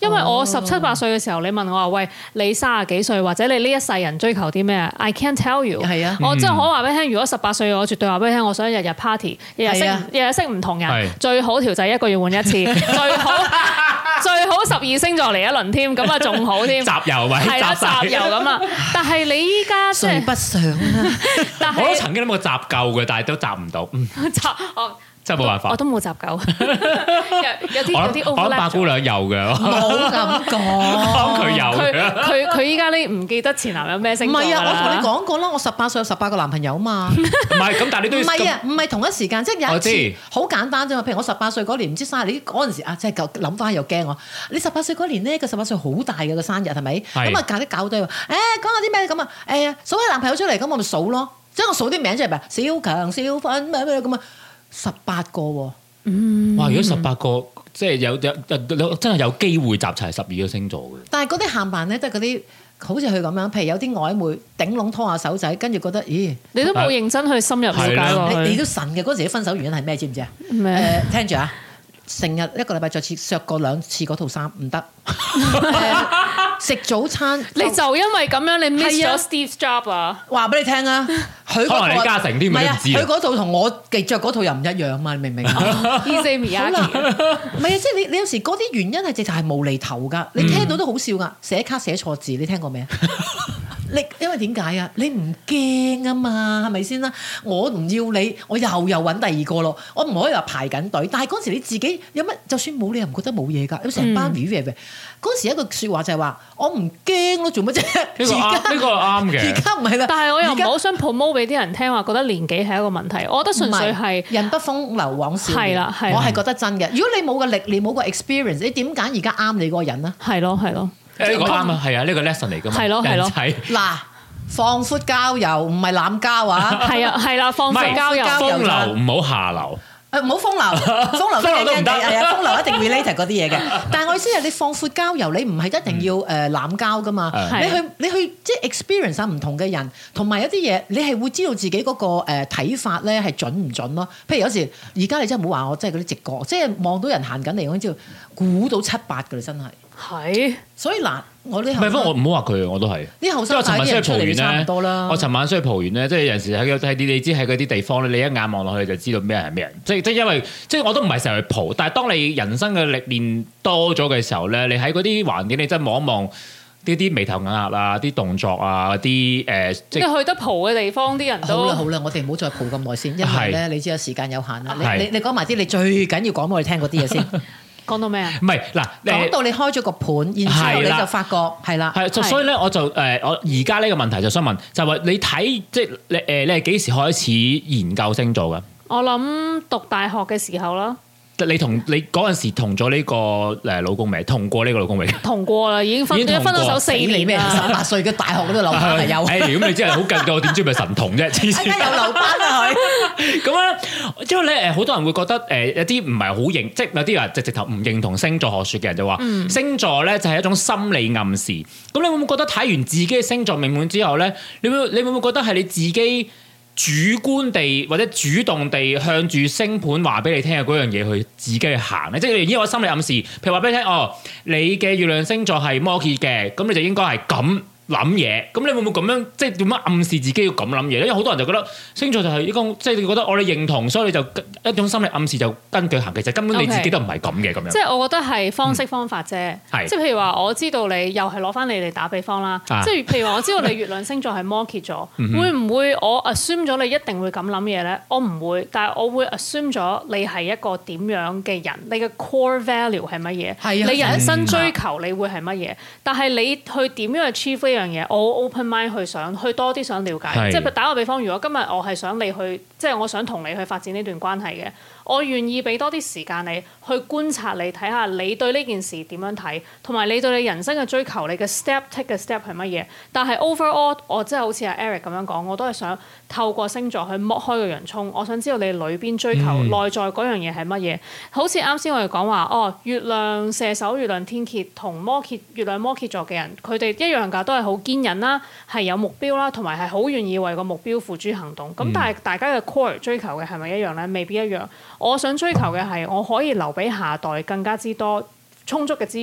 S4: 因為我十七八歲嘅時候，你問我話喂，你三十幾歲或者你呢一世人追求啲咩 ？I can't tell you。
S2: 係啊，
S4: 我真係可話俾你聽，如果十八歲，我絕對話俾你聽，我想日日 party， 日日識日日識唔同人，最好條仔一個月換一次，最好最好十二星座嚟一輪添，咁啊仲好添。
S3: 集郵咪
S4: 係啦，集郵咁啊！但係你依家即係
S2: 不上啦。
S4: 但係
S3: 我都曾經諗過集夠嘅，但係都集唔到。
S4: 集我。
S3: 真係冇辦法，
S4: 我都冇集夠，有有啲有啲 overlap 咗。
S3: 我諗八姑娘有嘅，
S2: 冇咁講，
S3: 佢有嘅。
S4: 佢佢依家呢唔記得前男友咩星座㗎啦。
S2: 唔係啊，我同你講過啦，我十八歲有十八個男朋友嘛。
S3: 唔係咁，但係你都要
S2: 唔係啊，唔係同一時間，即係有一次
S3: 我知
S2: 好簡單啫嘛。譬如我十八歲嗰年唔知生日，你嗰陣時啊，即係諗翻又驚我。你十八歲嗰年呢，個十八歲好大嘅個生日係咪？咁啊搞啲搞堆，誒講下啲咩咁啊？誒數下男朋友出嚟，咁我咪數咯。即係我數啲名出嚟咪，小強、小芬咩咩咁啊，十八個喎。
S3: 嗯，哇！如果十八個，即係有有有真係有機會集齊十二個星座嘅。
S2: 但係嗰啲限辦咧，都係嗰啲好似佢咁樣，譬如有啲曖昧頂籠拖下手仔，跟住覺得，咦？
S4: 你都冇認真去深入了解喎。
S2: 你你都神嘅嗰陣時，分手原因係咩？知唔知啊？
S4: 咩？
S2: 誒，聽住啊！成日一個禮拜着次著過兩次嗰套衫唔得。食早餐，
S4: 你就因為咁樣你 miss 咗 Steve Jobs 啊！
S2: 話俾你聽啊，佢
S3: 可能李嘉誠添，
S2: 唔係啊，
S3: 你唔知啊。
S2: 佢嗰套同我嘅着嗰套又唔一樣嘛，你明唔明啊
S4: ？Easy Miyagi，
S2: 唔係啊，即係你你有時嗰啲原因係直頭係無厘頭㗎，你聽到都好笑㗎。寫卡寫錯字，你聽過未啊？你因為點解啊？你唔驚啊嘛，係咪先啦？我唔要你，我又又揾第二個咯。我唔可以話排緊隊，但係嗰時你自己有乜？就算冇你又唔覺得冇嘢㗎。有成班 review 嘅嗰時一個説話就係話：我唔驚咯，做乜啫？
S3: 呢個啱，呢個啱嘅。
S2: 而家唔係啦，
S4: 但係我又唔好想 promote 俾啲人聽話，覺得年紀係一個問題。我覺得純粹係
S2: 人不風流往少年。
S4: 係啦，係。
S2: 我係覺得真嘅。如果你冇個歷練，冇個 experience，你點揀而家啱你嗰個人啊？
S4: 係咯，係咯。
S3: 呢個啱啊，係啊，呢個 lesson 嚟㗎嘛。
S4: 係咯，係咯。
S2: 嗱，放寬交友唔係濫交啊！
S4: 係啊，係啦，放寬交友，
S3: 風流唔好下流。
S2: 誒唔好風流，風流都唔得。係啊，風流一定 related 嗰啲嘢嘅。但係我意思係你放闊交友，你唔係一定要誒濫交㗎嘛。你去你去即係 experience 下唔同嘅人，同埋有啲嘢你係會知道自己嗰個誒睇法咧係準唔準咯。譬如有時而家你真係唔好話我，即係嗰啲直覺，即係望到人行緊嚟，我已經知道估到七八㗎啦，真係。
S4: 係。
S2: 所以嗱，我呢
S3: 唔係，不過我唔好話佢，我都係。
S2: 啲後生仔啲人出嚟差唔多啦。
S3: 我尋晚出去蒲完咧，即係有陣時喺喺啲你知喺嗰啲地方咧，你一眼望落去就知道咩人係咩人。即係即係因為即係我都唔係成日去蒲，但係當你人生嘅歷練多咗嘅時候咧，你喺嗰啲環境你真係望一望啲啲眉頭眼額啊、啲動作啊、啲誒，即係
S4: 去得蒲嘅地方啲人都
S2: 好啦好啦，我哋唔好再蒲咁耐先，因為咧你知道時間有限啦。你你你講埋啲你最緊要講俾我哋聽嗰啲嘢先。
S4: 講到咩啊？
S3: 唔係嗱，
S2: 講到你開咗個盤，然之後你就發覺係啦，
S3: 係就所以咧，我就誒我而家呢個問題就想問，就係話你睇即係你誒你係幾時開始研究星座㗎？
S4: 我諗讀大學嘅時候啦。
S3: 你同你嗰陣時同咗呢個誒老公未？同過呢個老公未？
S4: 同過啦，已經分已經分咗手四年
S2: 咩？十八歲嘅大學嗰度留班係有。
S3: 誒，咁你真係好勁㗎，我點知咪神童啫？黐線！
S2: 有留班啊佢。
S3: 咁啊，因為咧誒，好多人會覺得誒有啲唔係好認，即係有啲人直直頭唔認同星座學説嘅人就話，嗯、星座咧就係一種心理暗示。咁你會唔會覺得睇完自己嘅星座命盤之後咧，你會你會唔會覺得係你自己主觀地或者主動地向住星盤話俾你聽嘅嗰樣嘢去自己去行咧？即係你已經有心理暗示，譬如話俾你聽，哦，你嘅月亮星座係摩羯嘅，咁你就應該係咁諗嘢。咁你會唔會咁樣即係點樣暗示自己要咁諗嘢咧？因為好多人就覺得星座就係一個即係你覺得我哋認同，所以你就一種心理暗示就跟佢行。其實根本你自己都唔係咁嘅咁樣。
S4: 即係我覺得係方式方法啫。
S3: 嗯、
S4: 即係譬如話，我知道你又係攞翻你哋打比方啦。啊、即係譬如話，我知道你月亮星座係摩羯座，會唔會我 assume 咗你一定會咁諗嘢咧？我唔會，但係我會 assume 咗你係一個點樣嘅人，你嘅 core value 係乜嘢？
S2: 係啊，
S4: 你人生追求你會係乜嘢？但係你去點樣去 achieve 呢樣嘢？我 open mind 去想去多啲想了解。即係打個比方，如果今日我係想你去，即係我想同你去發展呢段關係嘅。我願意俾多啲時間你去觀察你，睇下你對呢件事點樣睇，同埋你對你人生嘅追求，你嘅 step take 嘅 step 係乜嘢？但係 overall，我真係好似阿 Eric 咁樣講，我都係想透過星座去剝開個洋葱，我想知道你裏邊追求內在嗰樣嘢係乜嘢。好似啱先我哋講話，哦，月亮射手、月亮天蠍同摩羯、月亮摩羯座嘅人，佢哋一樣㗎，都係好堅忍啦，係有目標啦，同埋係好願意為個目標付諸行動。咁、嗯、但係大家嘅 core 追求嘅係咪一樣咧？未必一樣。我想追求嘅係我可以留俾下代更加之多充足嘅資源，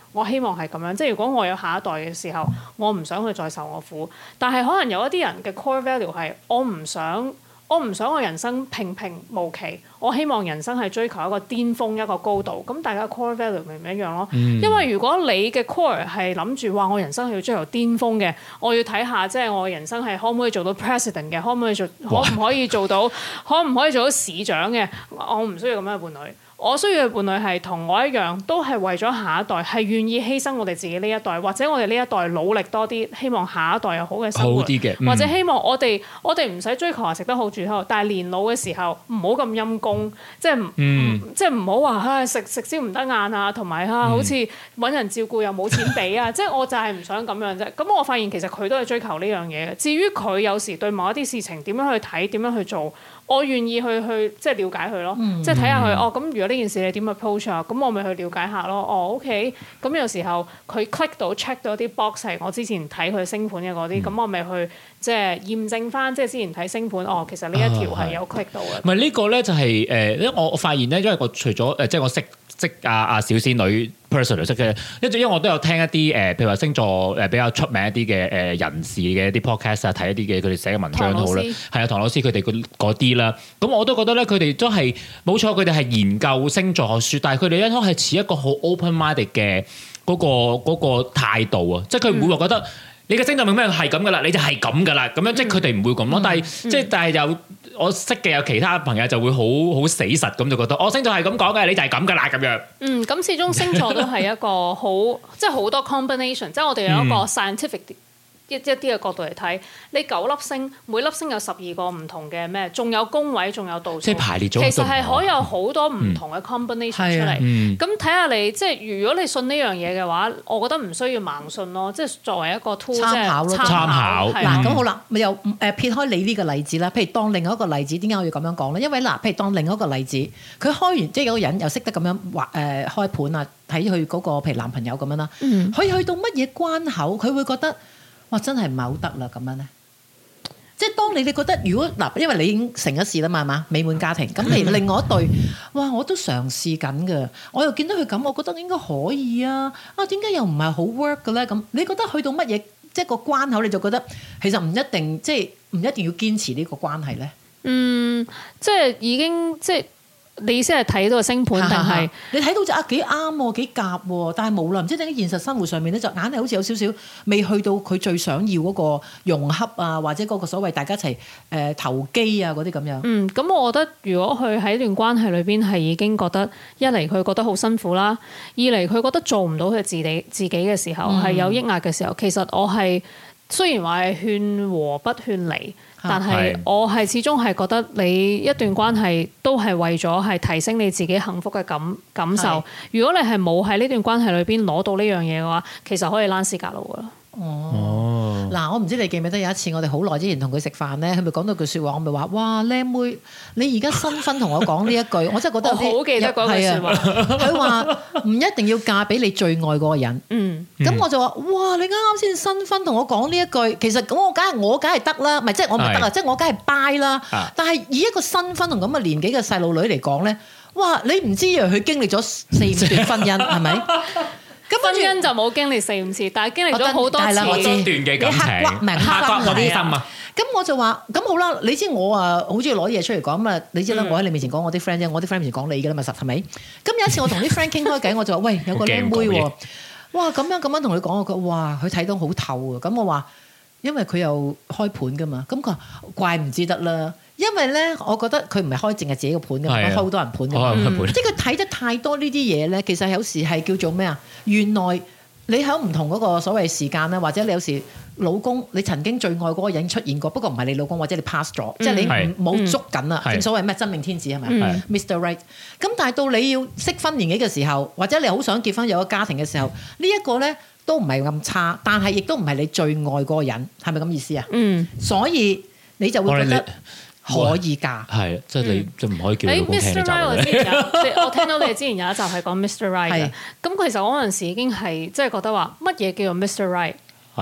S4: 我希望係咁樣，即係如果我有下一代嘅時候，我唔想佢再受我苦。但係可能有一啲人嘅 core value 係我唔想。我唔想我人生平平無奇，我希望人生係追求一個巔峰一個高度。咁大家 core value 咪唔一樣咯？嗯、因為如果你嘅 core 係諗住話我人生係要追求巔峰嘅，我要睇下即係我人生係可唔可以做到 president 嘅，可唔可以做可唔可以做到可唔可以做到市長嘅？我唔需要咁樣嘅伴侶。我需要嘅伴侶係同我一樣，都係為咗下一代，係願意犧牲我哋自己呢一代，或者我哋呢一代努力多啲，希望下一代有好嘅生活，
S3: 好啲嘅，嗯、
S4: 或者希望我哋我哋唔使追求話食得好住好，但係年老嘅時候唔好咁陰功，即係、嗯、即係唔好話唉食食宵唔得晏啊，同埋啊好似揾人照顧又冇錢俾啊，即係我就係唔想咁樣啫。咁我發現其實佢都係追求呢樣嘢嘅。至於佢有時對某一啲事情點樣去睇，點樣去做。我願意去去即係了解佢咯，嗯、即係睇下佢哦。咁如果呢件事你點 approach 啊？咁我咪去了解下咯。哦，OK。咁有時候佢 click 到 check 到啲 box 係我之前睇佢星盤嘅嗰啲，咁、嗯、我咪去即係驗證翻，即係之前睇星盤哦，其實呢一條係有 click 到嘅。
S3: 唔係呢個咧就係、是、誒，因為我我發現咧，因為我除咗誒，即係我識識阿阿小仙女 personal 識嘅，因為因為我都有聽一啲誒，譬如話星座誒比較出名一啲嘅誒人士嘅一啲 podcast 啊，睇一啲嘅佢哋寫嘅文章都好啦，係啊，唐老師佢哋嗰啲啦，咁我都覺得咧，佢哋都係冇錯，佢哋係研究星座學書，但係佢哋咧都係持一個好 open minded 嘅嗰個嗰個態度啊，即係佢唔會話覺得你嘅星座命咩係咁噶啦，你就係咁噶啦，咁樣即係佢哋唔會咁咯。但係即係但係有我識嘅有其他朋友就會好好死實咁就覺得，我星座係咁講嘅，你就係咁噶啦咁樣。嗯，
S4: 咁始終星座都係一個好即係好多 combination，即係我哋有一個 scientific、嗯。一一啲嘅角度嚟睇，你九粒星，每粒星有十二個唔同嘅咩，仲有宮位，仲有度數，
S3: 即係排列咗。
S4: 其實係可以有好多唔同嘅 combination、嗯、出嚟。咁睇下你，即係如果你信呢樣嘢嘅話，我覺得唔需要盲信咯。即係作為一個 tool，
S2: 參考咯，
S3: 參考。
S2: 嗱咁好啦，咪又誒撇開你呢個例子啦。譬如當另外一個例子，點解我要咁樣講咧？因為嗱，譬如當另外一個例子，佢開完即係有個人又識得咁樣畫誒開盤啊，睇佢嗰個譬如男朋友咁樣啦。佢、嗯、去到乜嘢關口，佢會覺得？哇！真係唔係好得啦咁樣咧，即係當你哋覺得如果嗱，因為你已經成咗事啦嘛，係嘛？美滿家庭咁，譬如另外一對，哇！我都嘗試緊嘅，我又見到佢咁，我覺得應該可以啊！啊，點解又唔係好 work 嘅咧？咁你覺得去到乜嘢即係個關口，你就覺得其實唔一定，即係唔一定要堅持呢個關係咧？嗯，
S4: 即係已經即係。你意思係睇到個星盤定係
S2: 你睇到就啊幾啱喎，幾夾喎，但係無論唔知點解現實生活上面咧，就硬係好似有少少未去到佢最想要嗰個融洽啊，或者嗰個所謂大家一齊誒、呃、投機啊嗰啲咁樣。
S4: 嗯，咁我覺得如果佢喺段關係裏邊係已經覺得一嚟佢覺得好辛苦啦，二嚟佢覺得做唔到佢自己自己嘅時候係、嗯、有抑壓嘅時候，其實我係雖然話係勸和不勸離。但係我係始終係覺得你一段關係都係為咗係提升你自己幸福嘅感感受。如果你係冇喺呢段關係裏邊攞到呢樣嘢嘅話，其實可以躝屍趌路噶啦。
S2: 哦，嗱，我唔知你記唔記得有一次我哋好耐之前同佢食飯咧，佢咪講到句説話，我咪話：哇，靚妹，你而家新婚同我講呢一句，我真係覺得有啲
S4: 好記得嗰句説話。
S2: 佢話唔一定要嫁俾你最愛嗰個人。嗯，咁我就話：哇，你啱啱先新婚同我講呢一句，其實咁我梗係我梗係得啦，唔係即係我唔係得啊，即係我梗係 buy 啦。但係以一個新婚同咁嘅年紀嘅細路女嚟講咧，哇，你唔知啊，佢經歷咗四五段婚姻係咪？
S4: 婚姻就冇經歷四五次，但係經歷咗好多次
S3: 中段嘅感情，
S2: 刻骨銘心嗰啲
S3: 心啊！
S2: 咁我就話：咁好啦，你知我啊，好中意攞嘢出嚟講嘛？你知啦，我喺你面前講我啲 friend 啫，我啲 friend 面前講你㗎啦嘛，實係咪？咁有一次我同啲 friend 傾開偈，我就話：喂，有個靚妹喎，哇，咁樣咁樣同佢講，我覺得哇，佢睇到好透啊！咁我話，因為佢又開盤㗎嘛，咁佢話怪唔知得啦。因為咧，我覺得佢唔係開淨係自己個盤嘅，佢開好多人盤嘅，嗯、即係佢睇得太多呢啲嘢咧。其實有時係叫做咩啊？原來你喺唔同嗰個所謂時間啦，或者你有時老公你曾經最愛嗰個人出現過，不過唔係你老公，或者你 pass 咗，嗯、即係你冇捉緊啦。正、嗯、所謂咩真命天子係咪、嗯、？Mister Right。咁但係到你要適婚年紀嘅時候，或者你好想結婚有個家庭嘅時候，呢一個咧都唔係咁差，但係亦都唔係你最愛嗰個人，係咪咁意思啊？嗯。所以你就會覺得。可以㗎，係
S3: 即係你即係唔可以叫你老公聽呢集
S4: 嘅。我聽到你之前有一集係講 Mister Right 嘅，咁其實我嗰陣時已經係即係覺得話乜嘢叫做 Mister Right？
S3: 係咯，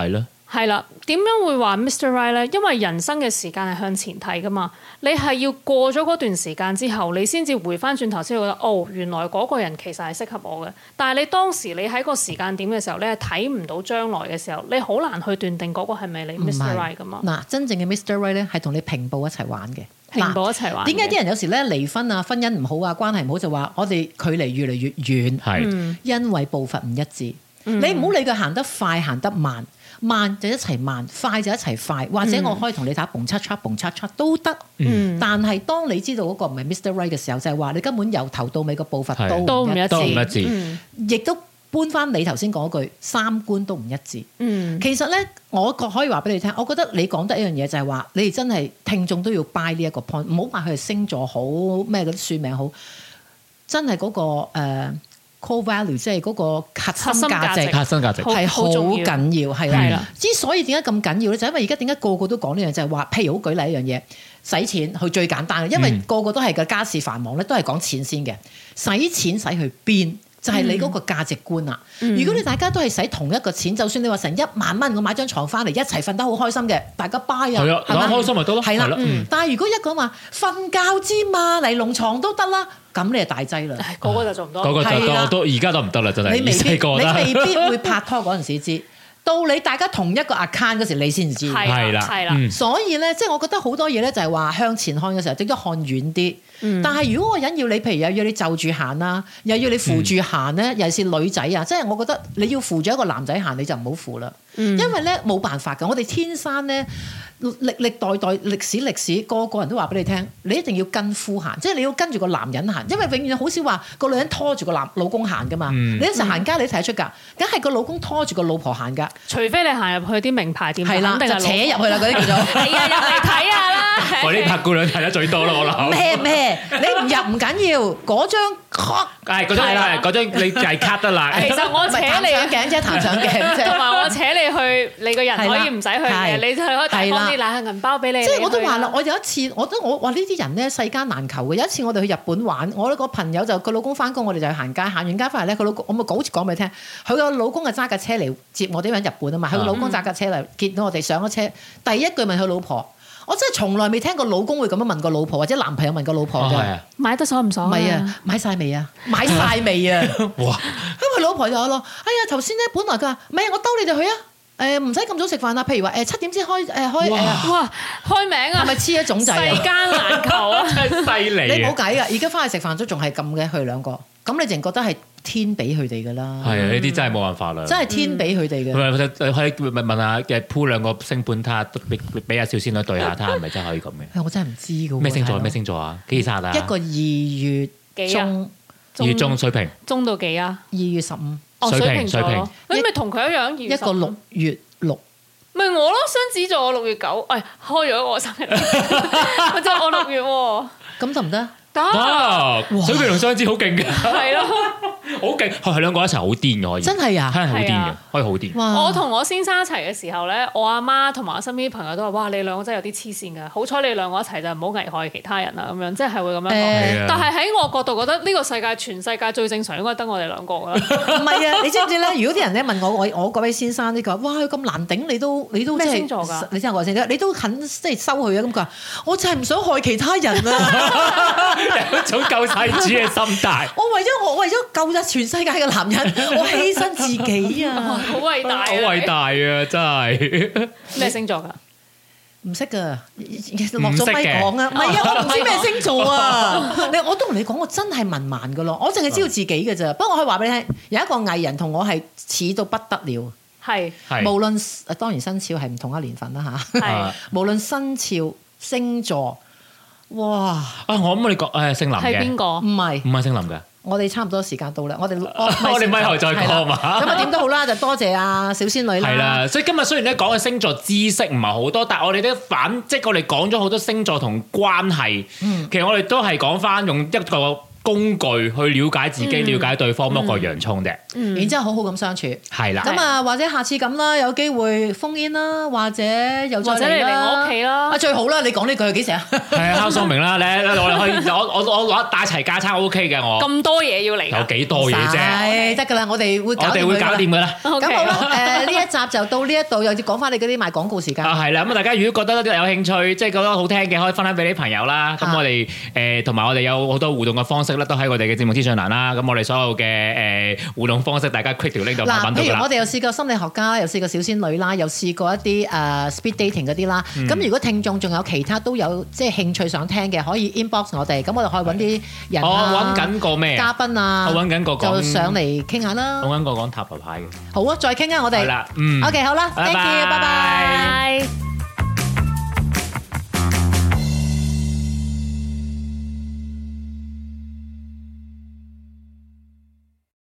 S4: 係啦，點樣會話 Mister Right 咧？因為人生嘅時間係向前睇噶嘛，你係要過咗嗰段時間之後，你先至回翻轉頭先會覺得，哦，原來嗰個人其實係適合我嘅。但係你當時你喺個時間點嘅時候，你係睇唔到將來嘅時候，你好難去斷定嗰個係咪你 Mister Right 噶嘛？
S2: 嗱，真正嘅 Mister Right 咧係同你平步一齊玩嘅，
S4: 平步一齊玩。
S2: 點解啲人有時咧離婚啊、婚姻唔好啊、關係唔好就話我哋距離越嚟越遠？
S3: 係、
S2: 嗯、因為步伐唔一致。嗯、你唔好理佢行得快行得慢。慢就一齊慢，快就一齊快，或者我可以同你打蹦嚓嚓蹦嚓嚓都得。嗯、但係當你知道嗰個唔係 Mister Right 嘅時候，就係、是、話你根本由頭到尾個步伐都唔一致，亦都搬翻你頭先講嗰句三觀都唔一致。嗯、其實咧，我覺可以話俾你聽，我覺得你講得一樣嘢就係話，你哋真係聽眾都要 buy 呢一個 point，唔好話佢係星座好咩嗰啲算命好，真係嗰、那個、呃 core value 即係嗰個核心價值，
S3: 核心價值
S2: 係好緊要，係啦。之所以點解咁緊要咧，就係因為而家點解個個都講呢樣，就係話，譬如好舉例一樣嘢，使錢佢最簡單嘅，因為個個都係個家事繁忙咧，都係講錢先嘅。使錢使去邊，就係你嗰個價值觀啦。嗯、如果你大家都係使同一個錢，就算你話成一萬蚊，我買張床翻嚟一齊瞓得好開心嘅，大家 buy 啊，
S3: 係啊，開心咪得咯，
S2: 係啦。但係如果一個話瞓覺之嘛，嚟龍床都得啦。咁你係大劑啦，
S4: 個個就做唔到，
S3: 個個就都都而家都唔得啦，真係。
S2: 你未必，你未必會拍拖嗰陣時知，到你大家同一個 account 嗰時，你先知。
S3: 係啦，
S4: 係啦。
S2: 所以咧，即係我覺得好多嘢咧，就係話向前看嘅時候，應該看遠啲。嗯、但係如果個人要你，譬如又要你就住行啦，又要你扶住行咧，嗯、尤其是女仔啊，即係我覺得你要扶住一個男仔行，你就唔好扶啦。嗯、因為咧冇辦法㗎，我哋天生咧歷歷代代歷史歷史個個人都話俾你聽，你一定要跟夫行，即係你要跟住個男人行，因為永遠好少話個女人拖住個男老公行㗎嘛。嗯、你一齊行街你睇得出㗎，梗係個老公拖住個老婆行㗎。除
S4: 非你行入去啲名牌店，
S2: 係啦，就扯入去啦嗰啲叫做。係啊，入嚟睇下啦。
S3: 我呢拍姑娘睇得最多啦，我諗。
S2: 咩咩？你唔入唔緊要，嗰張卡
S3: 係嗰張係嗰張你就係卡得啦。
S4: 其實我扯你
S2: 上鏡啫，彈上鏡啫。
S4: 同埋我扯你去，你個人可以唔使去嘅，你就可以帶翻啲冷銀包俾你。
S2: 即係我都話啦，我有一次，我都我話呢啲人咧世間難求嘅。有一次我哋去日本玩，我個朋友就佢老公翻工，我哋就去行街，行完街翻嚟咧，佢老公我咪好似講俾你聽，佢個老公係揸架車嚟接我哋喺日本啊嘛，佢個老公揸架車嚟見到我哋上咗車，第一句問佢老婆。我真係從來未聽過老公會咁樣問個老婆，或者男朋友問個老婆嘅、哦。買得爽唔爽？唔係啊，買晒未啊？買晒未啊？哇！咁佢老婆就話咯：哎呀，頭先咧本來佢話，唔係我兜你哋去啊。誒唔使咁早食飯啦。譬如話誒七點先開誒開誒。
S4: 哇！開名啊！
S2: 係咪黐一種仔啊？
S4: 世間難求啊！
S3: 真係犀利。
S2: 你冇計啊！而家翻去食飯都仲係咁嘅，佢哋兩個。咁你淨覺得係天俾佢哋㗎啦。係啊，
S3: 呢啲真係冇辦法啦。
S2: 真係天俾佢哋嘅。
S3: 唔係，可以問問下嘅鋪兩個星盤，睇下俾俾阿小仙女對下，睇下係咪真係可以咁嘅。
S2: 我真係唔知㗎喎。咩
S3: 星座？咩星座啊？幾時生啊？
S2: 一個二月中，
S3: 二月中水瓶。
S4: 中到幾啊？
S2: 二月十五。
S3: 水瓶，水瓶。
S4: 你咪同佢一樣，
S2: 一個六月六。
S4: 咪我咯，雙子座我六月九，誒開咗我生日，我真係我六月喎。
S2: 咁得唔得？
S3: 得，水瓶同雙子好勁嘅，
S4: 係咯，
S3: 好勁，係兩個一齊好癲嘅可以，
S2: 真係啊，
S3: 係好癲嘅，可以好癲。
S4: 我同我先生一齊嘅時候咧，我阿媽同埋我身邊啲朋友都話：哇，你兩個真係有啲黐線㗎！好彩你兩個一齊就唔好危害其他人啦，咁樣即係會咁樣講。但係喺我角度覺得呢個世界全世界最正常應該得我哋兩個㗎啦。唔
S2: 係啊，你知唔知咧？如果啲人咧問我，我我嗰位先生呢個，哇，佢咁難頂，你都你都
S4: 咩星座㗎？
S2: 你聽我話先，你都肯即係收佢啊？咁佢話：我就係唔想害其他人啊！
S3: 有種救世主嘅心態。
S2: 我為咗我為咗救咗全世界嘅男人，我犧牲自己啊！
S4: 好偉大，
S3: 好偉大啊！真係
S4: 咩星座㗎？
S2: 唔識㗎，落咗咪講啊！唔係啊，我唔知咩星座啊！你我都同你講，我真係文盲㗎咯，我淨係知道自己㗎咋。不過我可以話俾你聽，有一個藝人同我係似到不得了。
S4: 係，
S2: 無論當然生肖係唔同一年份啦嚇。係，無論生肖星座。哇！啊，
S3: 我諗你講誒姓林嘅
S4: 係邊個？
S2: 唔係唔
S3: 係姓林嘅。
S2: 我哋差唔多時間到啦，我哋
S3: 我哋咪後再講嘛。
S2: 咁啊點都好啦，就多謝阿小仙女啦。
S3: 係啦，所以今日雖然咧講嘅星座知識唔係好多，但係我哋都反即係我哋講咗好多星座同關係。嗯、其實我哋都係講翻用一個工具去了解自己、了解對方，剝個洋葱啫。
S2: 然之後好好咁相處。
S3: 係啦。
S2: 咁啊，或者下次咁啦，有機會封煙啦，或者又再
S4: 或者你嚟我屋企啦。
S2: 啊，最好啦！你講呢句幾時啊？
S3: 係啊，敲聰明啦，你我哋可以，我我我攞帶齊架撐 O K 嘅我。
S4: 咁多嘢要嚟。
S3: 有幾多嘢啫？
S2: 係得㗎啦，我哋會搞掂佢。
S3: 我哋會搞掂㗎啦。
S2: 咁好啦，誒呢一集就到呢一度，又要講翻你嗰啲賣廣告時間。
S3: 啊，係啦，咁啊，大家如果覺得有興趣，即係覺得好聽嘅，可以分享俾啲朋友啦。咁我哋誒同埋我哋有好多互動嘅方式咧，都喺我哋嘅節目資訊欄啦。咁我哋所有嘅誒互動方式，大家 click 條 link 度揾到㗎啦。
S2: 嗱，譬如我哋有試過心理學家，又試過小仙女啦，又試過一啲誒 speed dating 嗰啲啦。咁如果聽眾仲有其他都有即係興趣想聽嘅，可以 inbox 我哋，咁我哋可以揾啲人啊，
S3: 我揾緊個咩
S2: 嘉賓啊，
S3: 我揾緊個
S2: 就上嚟傾下啦。
S3: 我揾個講塔羅牌嘅。
S2: 好啊，再傾啊，我哋。
S3: 係啦，嗯。
S2: OK，好啦，thank you，拜拜。